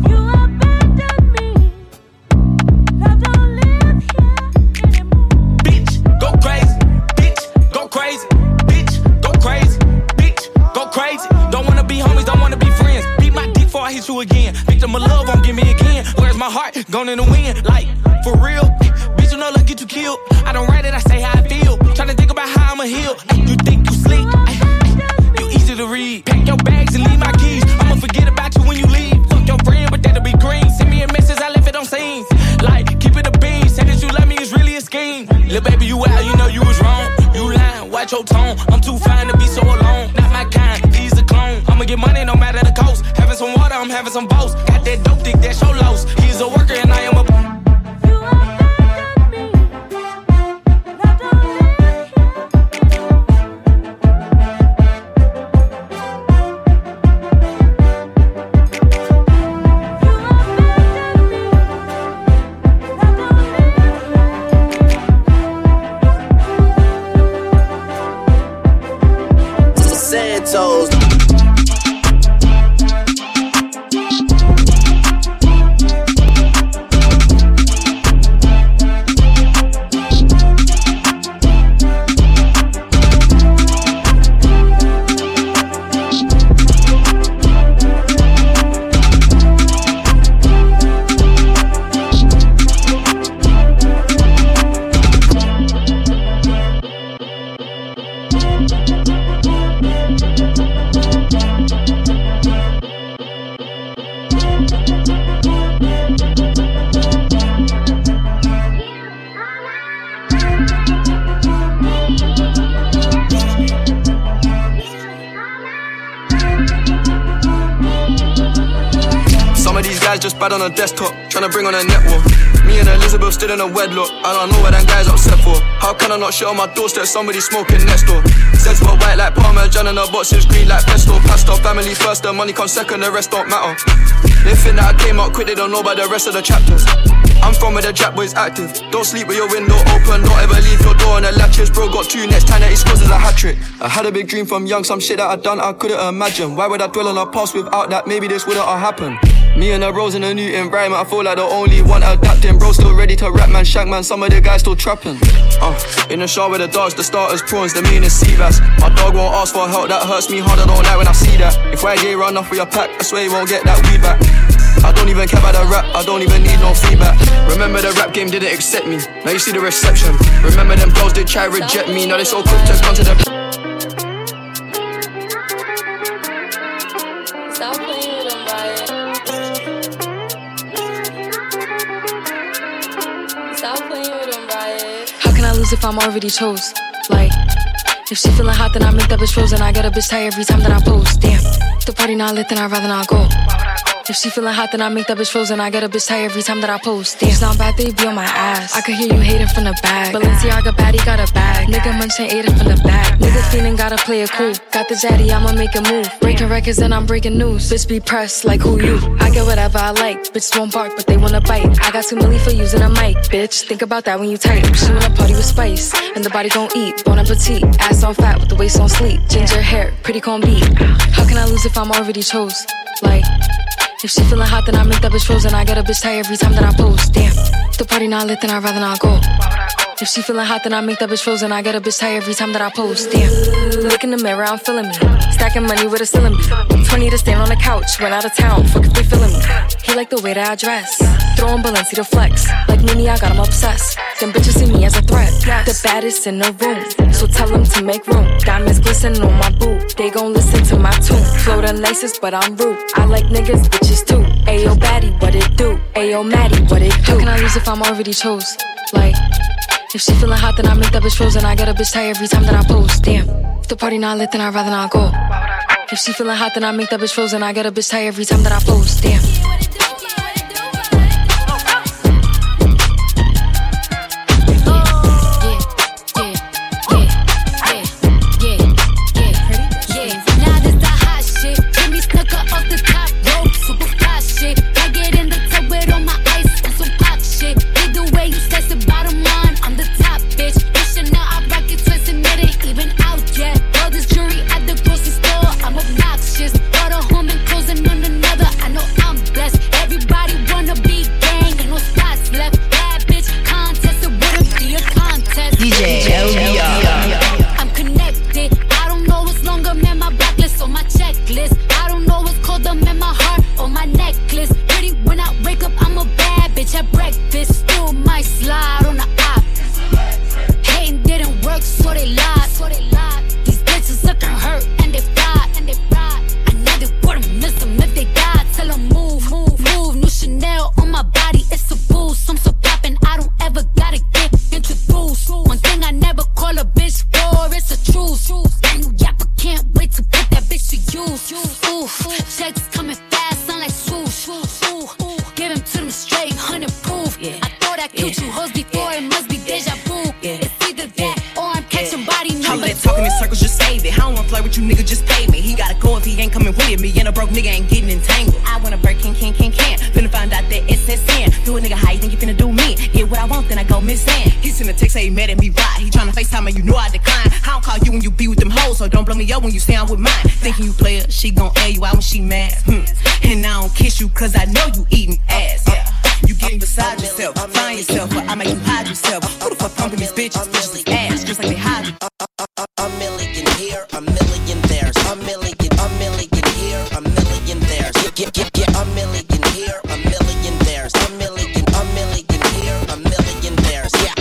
Crazy, bitch, go crazy, bitch, go crazy. Don't wanna be homies, don't wanna be friends. Beat my dick before I hit you again. Victim of love won't give me again. Where's my heart? Gone in the wind, like, for real. Bitch, you know, let's get you killed. I don't write it, I say how I feel. Tryna think about how I'ma heal. You think you sleep? You easy to read. Pack your bags and leave my keys. I'ma forget about you when you leave. Fuck your friend, but that'll be green. Send me a message, I left it on scene. Like, keep it a bean. Say that you love me, it's really a scheme. Lil' baby, you out, you know you was wrong. You lying, watch your tone. I'm too fine to be so alone. Not my kind, he's a clone. I'ma get money no matter the cost. Having some water, I'm having some boast. Got that dope, think that's your loss. He's a worker and I am a. Santos. Just bad on a desktop, tryna bring on a network. Me and Elizabeth still in a wedlock. I don't know what that guy's upset for. How can I not shit on my doorstep? Somebody smoking next door. Says we're white like Parmesan and our boxes green like pesto. Pastor, family first, the money comes second, the rest don't matter. They think that I came out quick, they don't know about the rest of the chapters. I'm from where the Jack boys active. Don't sleep with your window open, don't ever leave your door on the latches. Bro got two next time that he scores is a hat trick. I had a big dream from young, some shit that I done I couldn't imagine. Why would I dwell on our past without that? Maybe this wouldn't have happened. Me and the bros in a new environment, I feel like the only one adapting. Bro still ready to rap, man, shank man, some of the guys still trapping. Uh, in the shower with the dogs, the starters, prawns, the meanest sea bass. My dog won't ask for help, that hurts me hard, I don't like when I see that. If Y J run off with your pack, I swear you won't get that weed back. I don't even care about the rap, I don't even need no feedback. Remember the rap game didn't accept me, now you see the reception. Remember them girls did try reject me, now they so quick to come to the. Stop playing with them, Riot. Stop playing with them, Riot. How can I lose if I'm already chose? Like, if she feeling hot, then I make that bitch frozen. I get a bitch tired every time that I post. Damn, the party not lit, then I'd rather not go. If she feeling hot, then I make that bitch frozen. I get a bitch tired every time that I post. Damn, it's not bad, they be on my ass. I could hear you hating from the back. Balenciaga baddie got a bag. Nigga munching ate it from the back. Nigga feeling gotta play it cool. Got the zaddy, I'ma make a move. Breaking records and I'm breaking news. Bitch be pressed like who you? I get whatever I like. Bitches won't bark, but they wanna bite. I got two milli for using a mic, bitch. Think about that when you type. She wanna party with spice, and the body gon' eat. Bon appetit, ass on fat with the waist on sleep. Ginger hair, pretty con beat. How can I lose if I'm already chose? Like, if she feeling hot, then I make that bitch frozen. I get a bitch tired every time that I post. Damn, the party not lit, then I'd rather not go. If she feeling hot, then I make that bitch frozen. I get a bitch tired every time that I post. Damn. Look in the mirror, I'm feeling me. Stacking money with a ceiling bee. twenty to stand on the couch. Went out of town, fuck if they feeling me. He like the way that I dress. Throwing Balenci to flex. Like Mimi, I got him obsessed. Them bitches see me as a threat. The baddest in the room. So tell them to make room. Diamonds glistening on my boot. They gon' listen to my tune. Flow the nicest, but I'm rude. I like niggas, bitches too. Ayo, baddie, what it do? Ayo, Maddie, what it do? How can I lose if I'm already chose? Like, if she feeling hot, then I make that bitch frozen. I get a bitch tired every time that I post. Damn. If the party not lit, then I'd rather not go. If she feeling hot, then I make that bitch frozen. I get a bitch tired every time that I post. Damn. When you say I'm with mine, thinking you play her, she gon' air you out when she mad. Hmm. And I don't kiss you cause I know you eating ass. Yeah. You getting beside yourself, find yourself, but I make you hide yourself. Who the fuck pumping these bitches? Bitches ass, just like they hide you. A million here, a million there. A million, a million here, a million there. Get, get, get, get. A million here, a million there. A million, a million here, a million there. Yeah.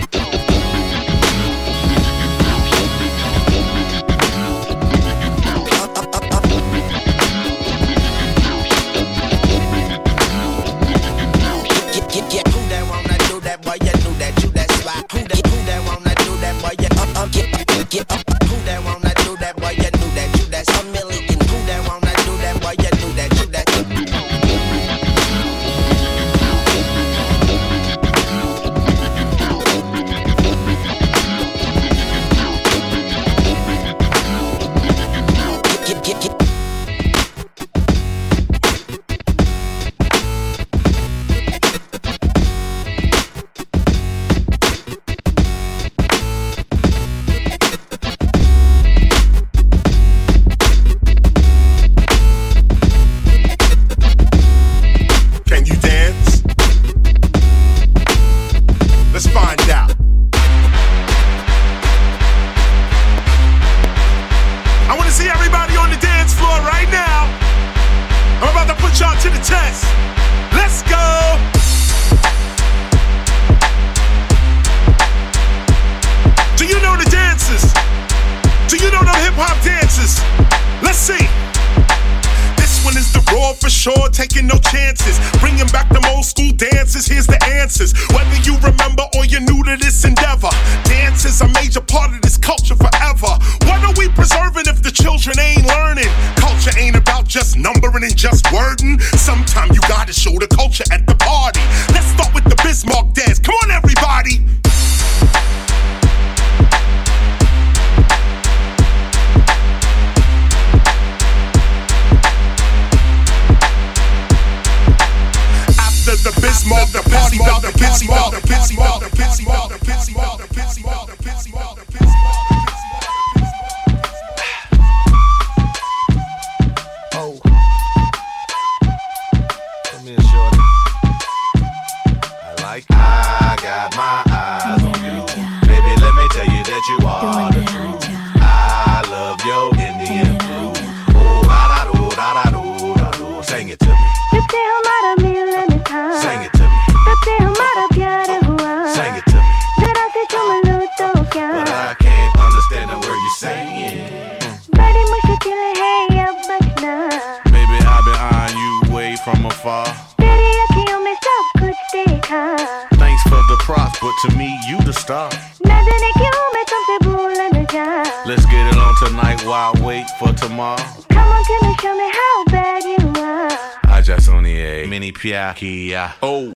Get up, who that wanna do that, boy, you knew that, you that's a million. Who that wanna do that, boy, you knew that, you that. Get, get, get. Taking no chances, bringing back them old school dances. Here's the answers. Whether you remember or you're new to this endeavor, dance is a major part of this culture forever. What are we preserving if the children ain't learning? Culture ain't about just numbering and just wording. Sometimes you gotta show the culture at the party. Let's start with the Bismarck dance. Come on, everybody. The Bismarck, the party about the Bismarck, the Bismarck, the Bismarck, the Bismarck, the Bismarck, the Bismarck, the Bismarck. Oh, come here, shorty. I like. I got my eyes on you, but to me, you the star. Nadine क्यों मैं तुमसे भूल न जाऊं? Let's get it on tonight while I wait for tomorrow. Come on, can you show me how bad you are? I just only a mini piakia. Oh.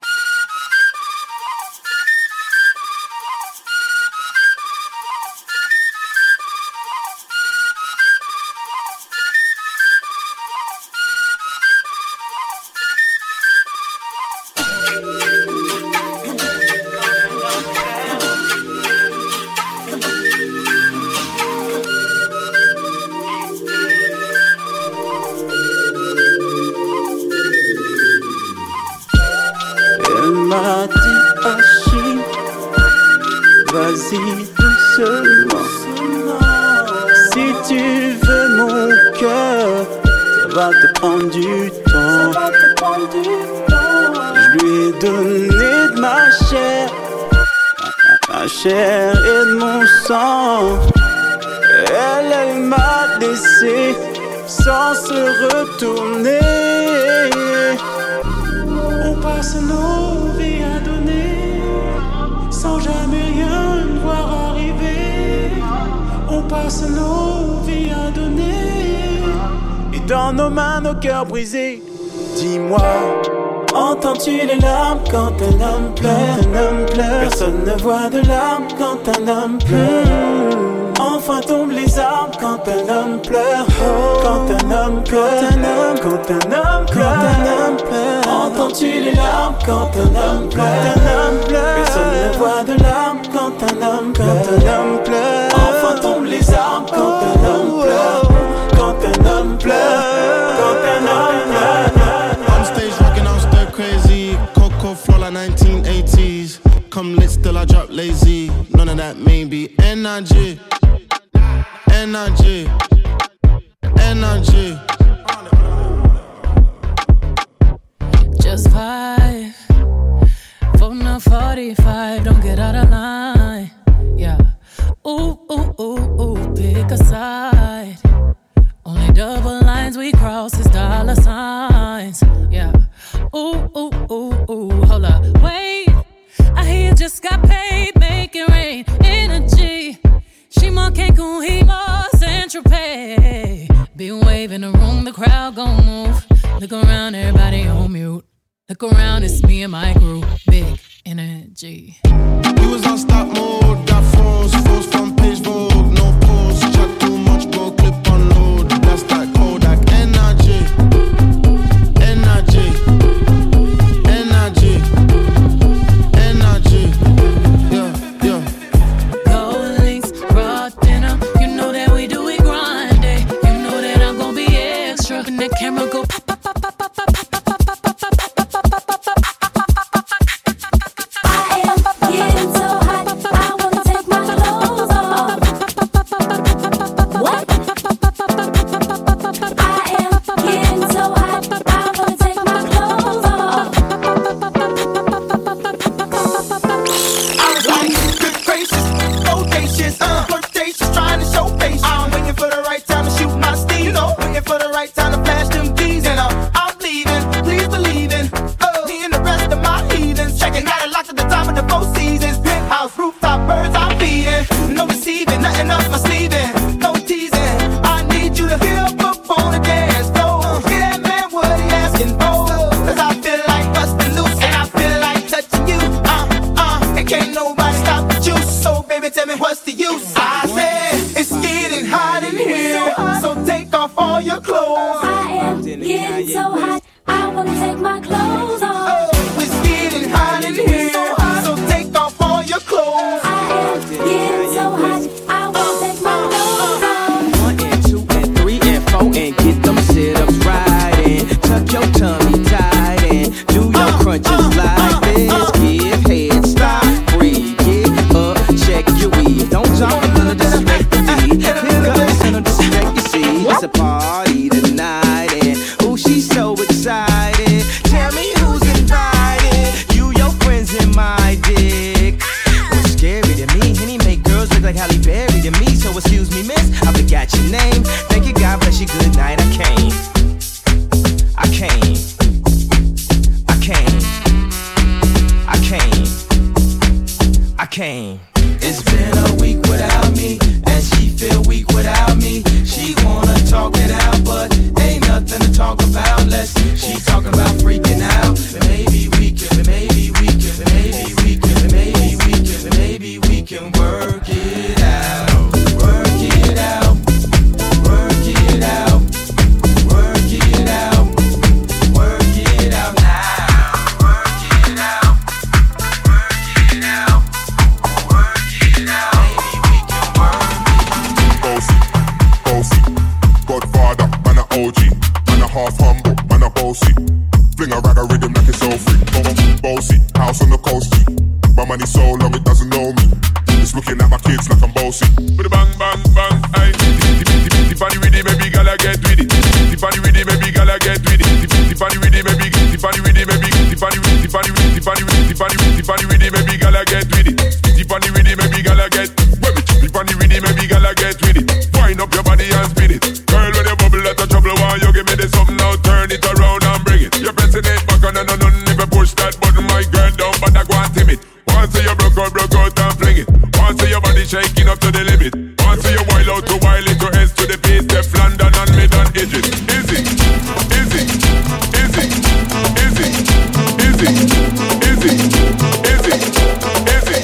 Vas-y doucement. Si tu veux mon cœur, ça va te prendre du temps. Je lui ai donné de ma chair, ma chair et de mon sang. Elle, elle m'a laissé sans se retourner. On passe nos vies à donner sans jamais rien voir arriver. On passe nos vies à donner et dans nos mains nos cœurs brisés. Dis-moi, entends-tu les larmes quand un homme pleure? Un homme pleure. Personne ne voit de larmes quand un homme pleure. Enfin tombent les armes quand un homme pleure. Quand un homme pleure. Quand un homme, quand un homme pleure. Quand un homme pleure. Entends-tu les larmes quand un homme pleure? Quand un homme pleure. Personne ne voit de larmes quand un homme pleure. Quand un homme pleure. Enfin tombent les armes quand un homme pleure. Quand un homme pleure. Quand un homme pleure. On stage rocking, I'm still crazy. Coco flow like nineteen eighties. Come lit, still I drop lazy. None of that maybe. N I G N I G N I G Just five for now forty-five. Don't get out of line. Yeah. Ooh, ooh, ooh, ooh. Pick a side. Only double lines we cross is dollar signs. Yeah. Ooh, ooh, ooh, ooh. Hold up. Wait. I hear you just got paid. Make it rain. Energy. She manque qu'on himo Saint-Tropez. Been waving the room, the crowd gon' move. Look around, everybody on mute. Look around, it's me and my group. Big energy. We was on stop mode. Got phones, phones from page Vogue. No pause, chat too much, bro. Clip on load. That's that Kodak. N I G N I G N I G N I G Yeah, yeah. Gold links, raw dinner. You know that we do it grinding. You know that I'm gon' be extra. When that camera go pop, pop, pop, pop, pop, pop, pop, pop, pop, pop, pop, pop, pop, pop, pop, pop, pop. I am getting so hot, I wanna take my clothes off. What? I am getting so hot, I wanna take my clothes off. I was like, good gracious, audacious, uh, flirtatious, trying to show patience. I'm waiting for the right time to shoot my steam, you know, waiting for the right time to flash them keys, and uh, I'm leaving, please believe in, uh, me and the rest of my heathens, checking out a lot at the time of the four seasons, penthouse, rooftop, birds I'm feeding, no deceiving, nothing off my sleeving, no teasing, I need you to get up up on the dance floor, get that man what he asking for, cause I feel like busting loose, and I feel like touching you, uh, uh, and can't nobody stop the juice, so baby tell me what's the use, I said, it's getting hot in here, so take off all your clothes, I am getting so hot, I wanna take my clothes off. oh, it's getting hot in here, so take off all your clothes, I am getting so hot, I wanna take my clothes off. One and two and three and four and get them sit-ups right and tuck your tummy tight and do your crunches like this. Give head, stop, breathe, get up, check your weave. Don't jump under disrespect the beat. Pick up the center, disrespect you see. It's a party tonight and ooh, she's so excited. Tell me who's invited. You, your friends, and my dick. What's scary to me? Henny make girls look like Halle Berry to me. So excuse me, miss, I forgot your name. Thank you, God bless you, good night. I came, I came, I came, I came, came. It's been a week without me, and she feel weak without me. She wanna talk it out, but ain't nothing to talk about unless she talking about freaking out. But maybe we can, but maybe we can, but maybe we can, but maybe we can, but maybe we can work it out, work it out, work it out, work it out, work it out now, work it out, work it out. Godfather, man a O G, man a half humble, man a bossy. Fling a rag a rhythm like it's all free. Bossy, house on the coast G. My money so long it doesn't know me. It's looking at my kids like I'm bossy. With a bang bang bang, aye. Tiffany with it, baby girl I get with it. Tiffany with it, baby girl I get with it. Tiffany with it, baby. Tiffany with it, baby. Tiffany with Tiffany with Tiffany with Tiffany with Tiffany with it, baby girl I get with it. Tiffany with it, baby girl I get. Tiffany with it, baby girl I get with it. Wind up your body and spin it. Girl, when you bubble out of trouble, why you give me this something now? Turn it around and bring it. You're pressing it back on and on and if you push that button, my girl down, but I go and tame it. Once you broke out, broke out and fling it. Once your body shaking up to the limit. Once you wild out to wild it to S to the base, Steph London and mid and edges. Easy, easy, easy, easy, easy, easy, easy, easy.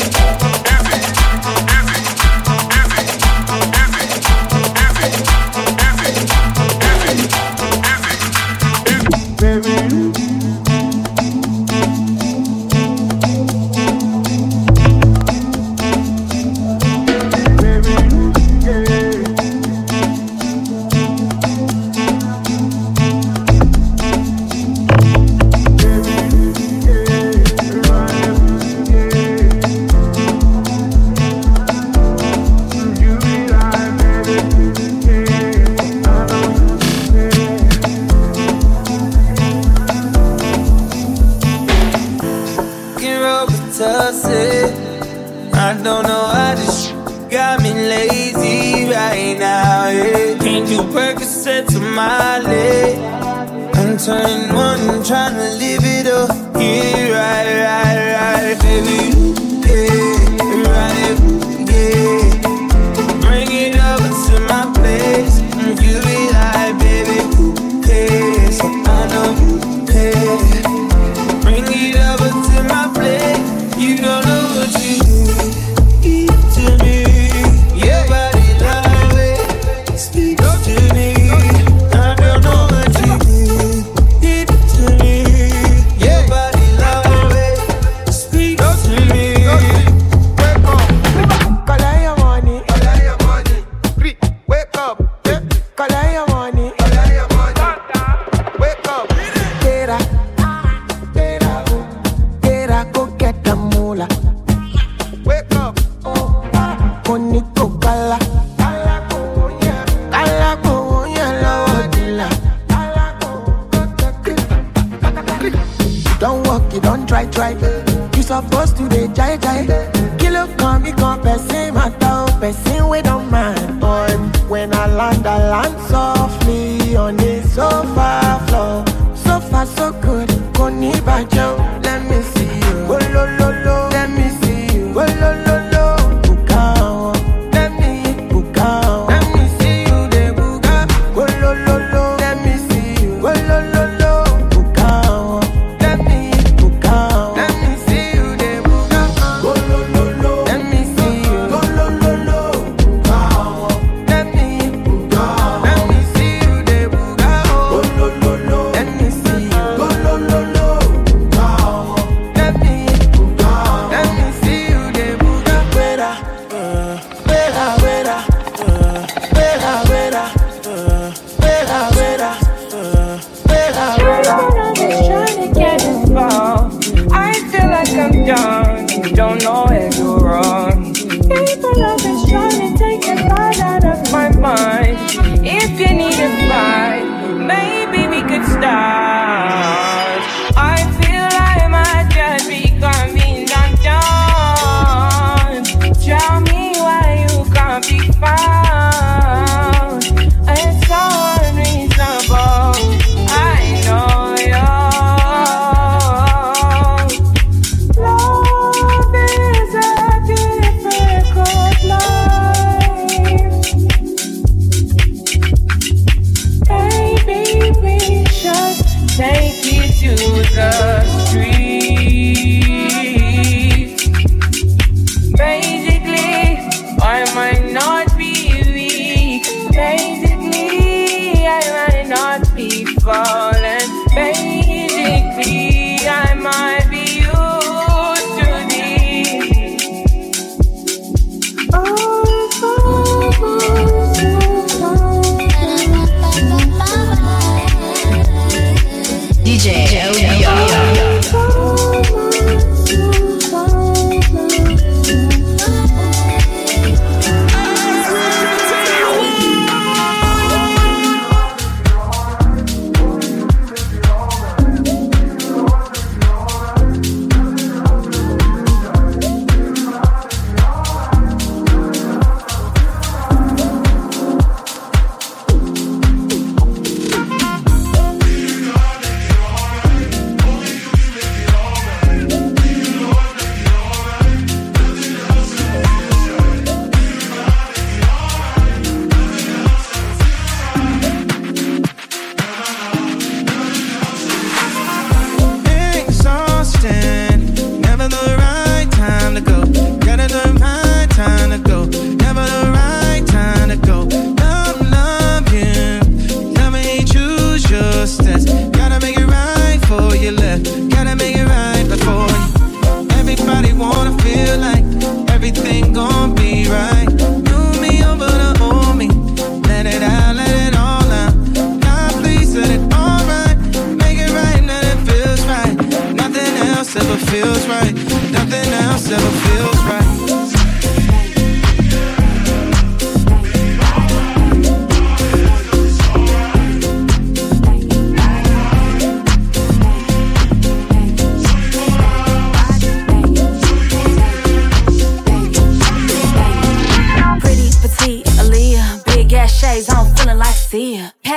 I don't know how this shit got me lazy right now, yeah. Can't do Percocets on my leg. I'm turning one, trying to live it up. Yeah, right, right, right, baby. Yeah, right, yeah. Bring it over to my place. You be like, baby, who cares? I know you care. Bring it over to my place. You don't know what you do. To me, your body love it, speak to me. I don't know what you do. Deep to me, your body love it, speak to me. Wake up, collect your money, collect your money. Wake up, collect your money, collect your money. Wake up, get up, get up, get up, go get the moolah. Wake up. Bonito kala, kala konya, kala konya lodila. Don't walk, you don't try, try. You supposed to be jai jai. Kilo come, me come, person matter, person we don't mind. Boy, when I land, I land softly on the sofa floor. So far, so good. Koni bajo, let me see you. Oh lo lo lo, let me see you. Oh lo lo lo. Don't know where you're wrong. People always trying to take the thought out of my mind. If you need a fight, maybe we could start. I feel I might just be coming undone. Tell me why you can't be found. It's so unreasonable. I know you're. Love is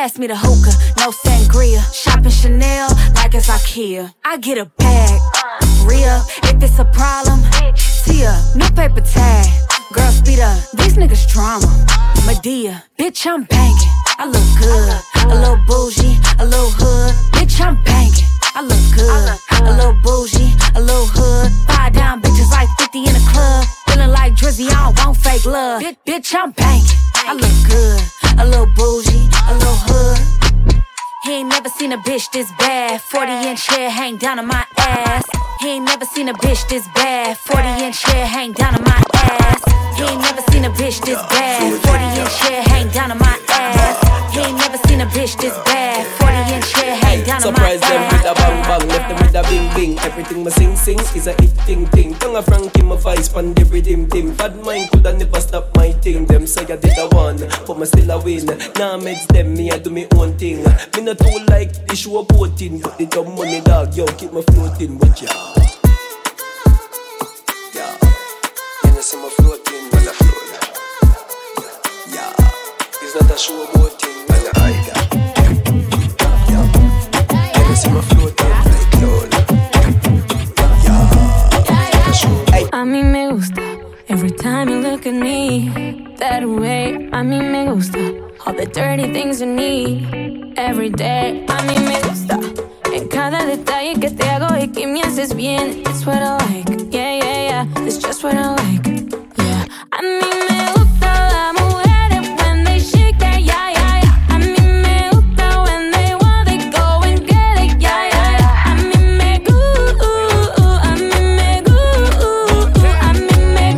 pass me the hookah, no sangria. Shopping Chanel like it's IKEA. I get a bag, Rhea. If it's a problem, Tia, new paper tag. Girl, speed up, these niggas drama. Medea, bitch, I'm banging. I look good, a little bougie, a little hood. Bitch, I'm banging. I look good, a little bougie, a little hood. Five down bitches like fifty in the club. Feeling like Drizzy, I don't want fake love. Bitch, bitch, I'm banging. I look good, a little bougie, a little hood. He ain't never seen a bitch this bad. forty inch hair hang down on my ass. He ain't never seen a bitch this bad. forty inch hair hang down on my ass. He ain't never seen a bitch this bad. forty inch hair hang down on my ass. He ain't never seen a bitch this bad. forty inch hair hang down on my ass. Surprise them with a bang bang, left them with a bing bing. Everything me sing sing is a hit ting ting. Tongue a Frankie my vice pan the rhythm tim. Bad mind coulda never stop my thing. Them say I did a one, but me still a win. Nah meds them, me I do me own thing. Me not too like the show boating, but the dumb money dog, yo keep me floating with ya. Yeah, you know see me floating, but I float. Yeah, it's not a show boating, but I got. Yeah, you know see me floating like cloud. Yeah, a mí me gusta every time you look at me that way. A mí me gusta all the dirty things you need every day. A mí me gusta en cada detalle que te hago y que me haces bien. It's what I like, yeah, yeah, yeah. It's just what I like, yeah. A mí me gusta las mujeres when they shake that, yeah, yeah, yeah. A mí me gusta when they want, they go and get it, yeah, yeah, yeah. A mí me gusta, a mí me gusta, a mí me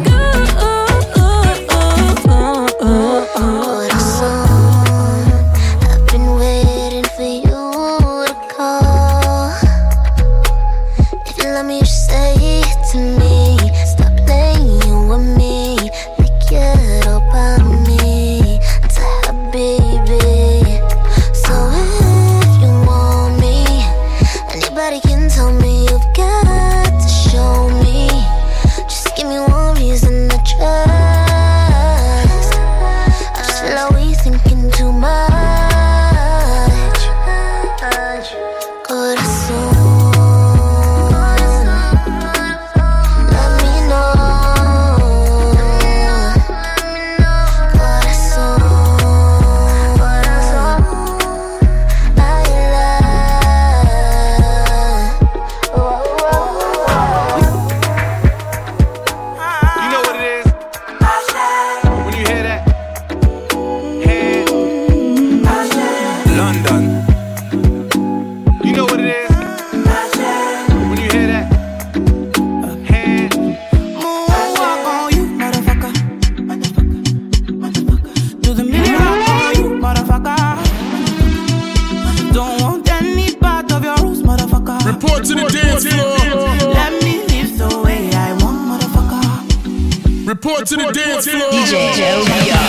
Report to the dance floor. D J Joe.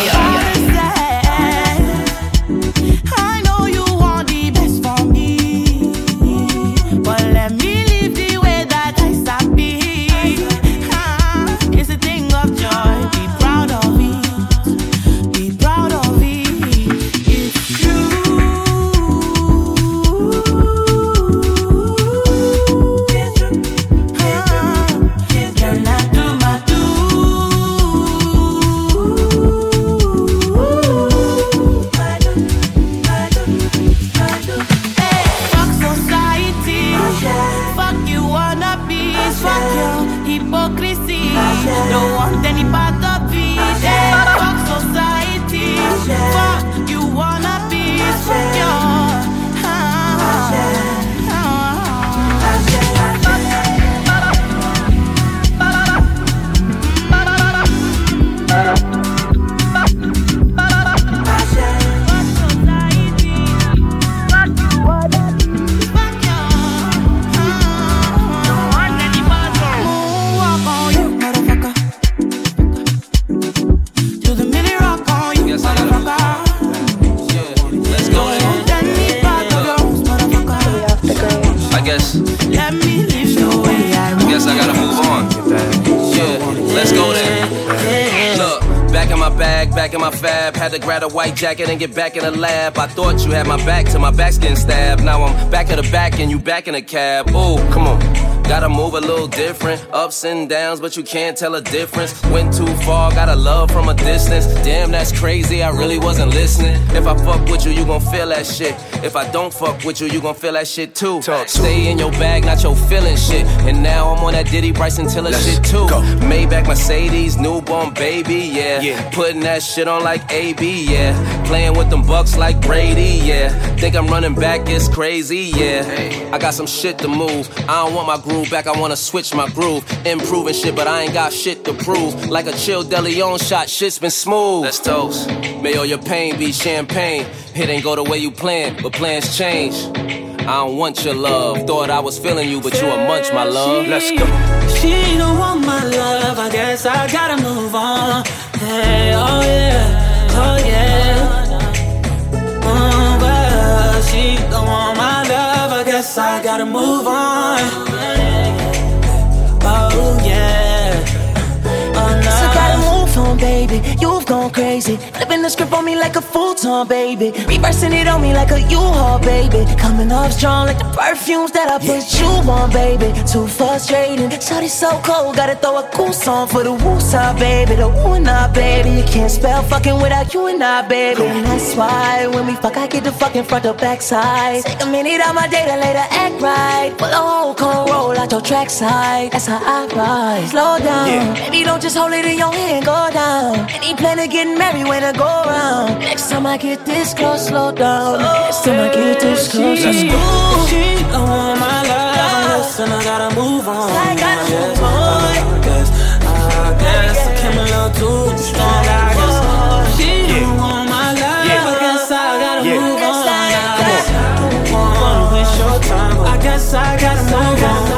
I know you want the best for me, but let me live the way that I sabi. Ah, it's a thing of joy. Be proud of it. Be proud of it. It's true. Ah, you're not too much. Hypocrisy, don't want any part of it. Hey, fuck society, fuck you wanna be, fuck your. back in my fab. Had to grab a white jacket and get back in the lab. I thought you had my back till my back's getting stabbed. Now I'm back in the back and you back in the cab. Ooh, come on. Gotta move a little different. Ups and downs, but you can't tell a difference. Went too far, got a love from a distance. Damn, that's crazy, I really wasn't listening. If I fuck with you, you gon' feel that shit. If I don't fuck with you, you gon' feel that shit too. Talk Stay in your bag, not your feeling shit. And now I'm on that Diddy Bryson Tiller shit too. Go. Maybach Mercedes, newborn baby, yeah. yeah. Putting that shit on like A B, yeah. Playing with them bucks like Brady, yeah. Think I'm running back, it's crazy, yeah. Hey. I got some shit to move. I don't want my groove back, I wanna switch my groove. Improving shit, but I ain't got shit to prove. Like a chill DeLeon shot, shit's been smooth. Let's toast. May all your pain be champagne. It ain't go the way you planned, but plans change. I don't want your love. Thought I was feeling you, but you a munch, my love. Let's go. She don't want my love, I guess I gotta move on. Hey, oh yeah, oh yeah. Oh, well, she don't want my love, I guess I gotta move on. Oh yeah, oh no. So gotta move on, baby. You've gone crazy, flipping the script on me like a futon, baby. Reversing it on me like a U-Haul, baby. Coming off strong like the perfumes that I put you on, baby. Too frustrating, shawty so cold. Gotta throw a cool song for the woo-side, baby. The woo and I, baby. You can't spell fucking without you and I, baby. And that's why when we fuck, I get the fucking front or back side. Take a minute out my day to later act right. Pull a whole con roll out your track side. That's how I ride. Slow down, yeah. Baby, don't just hold it in your hand, go down. Any plan of getting married when I go around. Next time I get this close, slow down. Next time I get this close, let's go. She don't want my love, listen, I gotta move on. I gotta move on. I guess, I guess I came a little too strong. I guess she don't want my love, I guess I gotta move on. I don't wanna waste your time, I guess I gotta move on.